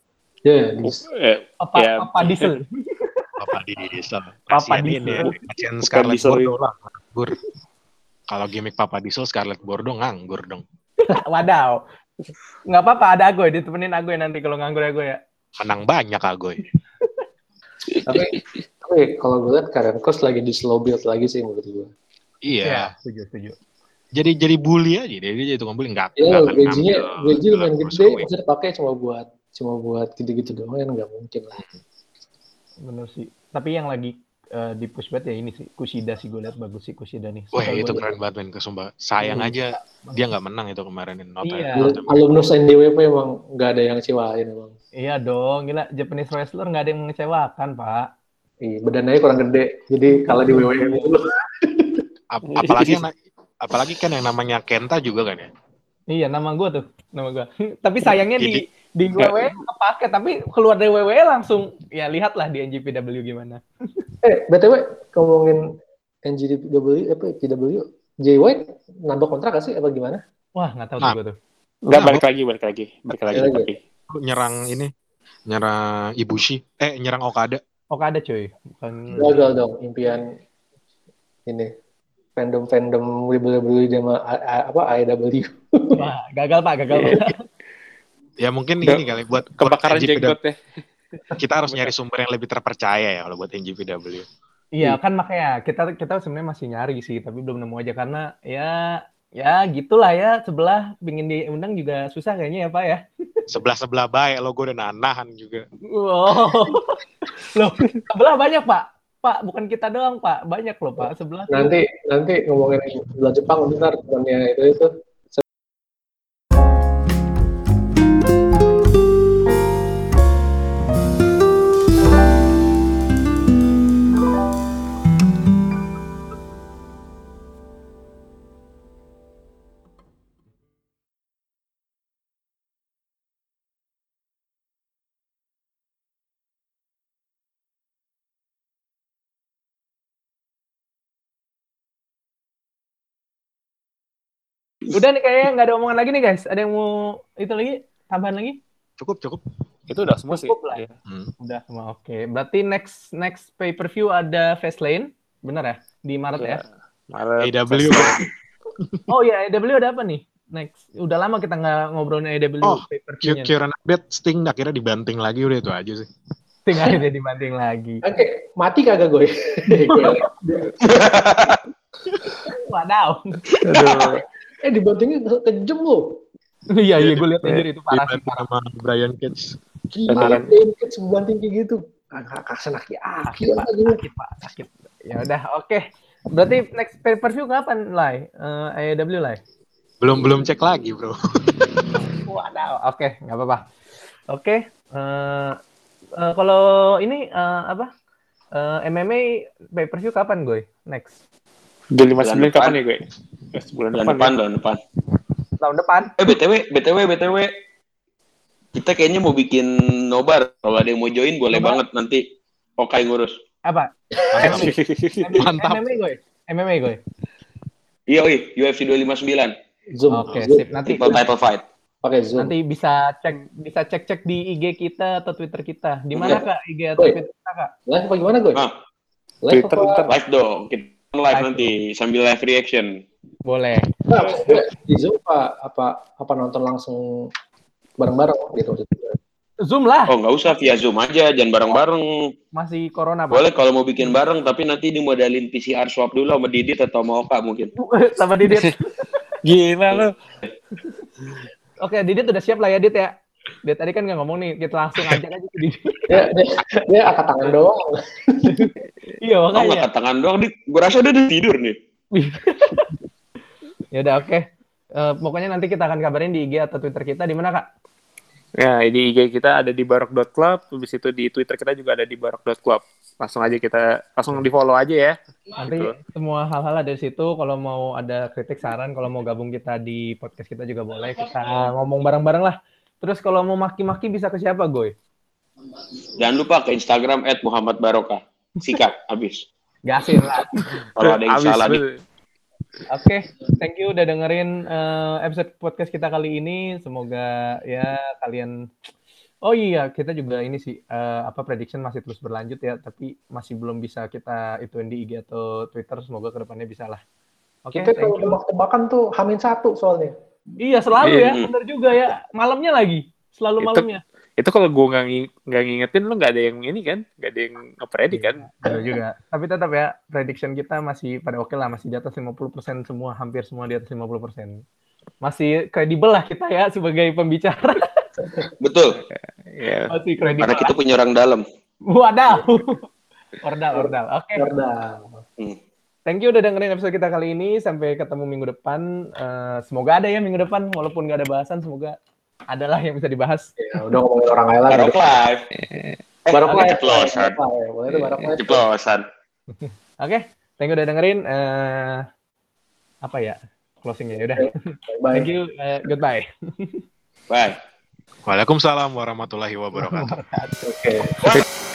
Papa Diesel. Kasian Scarlett Bordeaux lah, nganggur. Kalau gimmick Papa Diesel, Scarlett Bordeaux nganggur dong. Wadaw. Nggak apa-apa, ada Agoy, ditemenin Agoy nanti kalau nganggur Agoy ya. Menang banyak Agoy. tapi kalau gue lihat Karrion Kross lagi di slow build lagi sih menurut gue. Iya. Setuju. Jadi bully aja dia jadi tukang bully enggak. Gaji lumayan gede, bisa dipakai cuma buat gitu-gitu doang kan nggak mungkin lah. Benar sih. Tapi yang lagi di push banget ya ini sih Kushida sih, gue lihat bagus sih Kushida nih. Wah Suka itu gue. keren banget men, kesumpah. Sayang aja dia nggak menang itu kemarin. Iya. Alumnus NDWP emang nggak ada yang ngecewain emang. Iya dong, gila Japanese wrestler nggak ada yang mengecewakan Pak. Iya, badannya kurang gede, jadi kalah di WWE dulu. Apalagi kan yang namanya Kenta juga kan ya. Iya, nama gue. Tapi sayangnya Jadi di WWE kepake, tapi keluar dari WWE langsung ya lihatlah di NJPW gimana. BTW ngomongin NJPW Jay White nambah kontrak gak sih apa gimana? Wah, nggak tahu tuh gue tuh. Nggak, Nah, balik lagi tapi. nyerang Ibushi, nyerang Okada. Okada cuy, bukan. Gagal dong impian ini fandom WWE sama AEW. Wah, gagal Pak. Ya mungkin ini kali buat Kebakaran NJPW. jenggot ya. Kita harus nyari sumber yang lebih terpercaya ya kalau buat NJPW. Iya kan makanya kita sebenarnya masih nyari sih, tapi belum nemu aja karena ya gitulah ya, sebelah pingin diundang juga susah kayaknya ya Pak ya. Sebelah baik lo, gue udah nahan juga. Wow. Loh, sebelah banyak Pak. Pak, bukan kita doang Pak, banyak loh Pak sebelah. Nanti ngomongin sebelah Jepang bentar temannya itu. Udah nih kayaknya nggak ada omongan lagi nih guys. Ada yang mau itu lagi? Tambahan lagi? Cukup. Itu udah semua sih. Cukup lah. Iya. Udah semua. Oke. Berarti next pay-per-view ada Fastlane. Bener ya? Di Maret ya? Maret. AEW. Oh iya, AEW ada apa nih? Next. Udah lama kita nggak ngobrolin AEW pay-per-view-nya. Kira update Sting akhirnya dibanting lagi, udah itu aja sih. Sting akhirnya dibanting lagi. Oke, mati kagak gue? Wadaw. Dibantingin kejam lo. Iya, gue lihat anjir itu parah sih. Dibanting sama Brian Cage. Gila, Cage banting kayak gitu. Kakak Sakit, Pak. Sakit. Ya udah, oke. Berarti next pay-per-view kapan, Lai? AEW, Lai? Belum cek lagi, bro. Wadaw, oke, nggak apa-apa. Oke, kalau ini MMA pay-per-view kapan, gue? Next? Di 59 kapan ya gue? Bulan depan. Tahun depan. BTW. Kita kayaknya mau bikin nobar. Kalau ada yang mau join boleh banget nanti. Okai ngurus. Apa? Mantap. MMA gue. Iya, UFC 259. Zoom. Oke, sip. Nanti Title fight. Pakai Zoom. Nanti bisa cek di IG kita atau Twitter kita. Di mana Kak IG atau Twitter kita, Kak? Live apa gimana gue? Twitter. Live dong. Kita live nanti sambil live reaction. Boleh. Nah, di Zoom apa nonton langsung bareng-bareng gitu maksudnya. Zoom lah. Oh, nggak usah via Zoom aja, jangan bareng-bareng. Masih corona, Pak. Boleh kalau mau bikin bareng, tapi nanti dimodalin PCR swab dulu sama Didit atau sama Oka mungkin. Sama Didit. Gila lo. Oke, Didit udah siap lah ya, Dit ya. Dit tadi kan nggak ngomong nih, kita langsung ajak aja ke Didit. Dia angkat tangan doang. Iya, Oh, makanya. angkat tangan doang, gue rasa dia udah tidur nih. Ya udah, oke. Pokoknya nanti kita akan kabarin di IG atau Twitter kita. Di mana, Kak? Ya, di IG kita ada di barok.club, habis itu di Twitter kita juga ada di barok.club. Langsung di-follow aja ya. Nanti gitu. semua hal-hal ada di situ. Kalau mau ada kritik, saran, kalau mau gabung kita di podcast kita juga boleh. Kita ngomong bareng-bareng lah. Terus kalau mau maki-maki bisa ke siapa, Goy? Jangan lupa ke Instagram @muhammadbarokah. Sikat, habis. Gasin lah. Kalau ada yang salah Oke, thank you udah dengerin episode podcast kita kali ini. Semoga ya kalian. Oh iya, kita juga ini sih prediction masih terus berlanjut ya, tapi masih belum bisa kita ituin di IG atau Twitter. Semoga kedepannya bisa lah. Oke, Kita kalau tebak-tebakan tuh H-1 soalnya. Iya selalu ya, bener juga ya. Malamnya lagi, selalu malamnya. Itu kalau gue nggak ngingetin lo nggak ada yang ini kan, nggak ada yang nge-predict kan. Betul juga. Tapi tetap ya, prediction kita masih pada oke lah, masih di atas 50% semua, hampir semua di atas 50%. Masih kredibel lah kita ya sebagai pembicara. Betul. Ya. Masih kredibel. Karena kita punya orang dalam. Wadaw. Ordal. Oke. Ordal. Thank you udah dengerin episode kita kali ini. Sampai ketemu minggu depan. Semoga ada ya minggu depan. Walaupun nggak ada bahasan, semoga adalah yang bisa dibahas. Ya, udah ngomongin orang lain lagi. Barok live. Barok live. Ceplosan. Boleh itu barok live. Ceplosan. Oke, thank you udah dengerin. Apa ya closingnya? Udah. Bye. Thank you. Goodbye. Bye. Waalaikumsalam warahmatullahi wabarakatuh. Oke.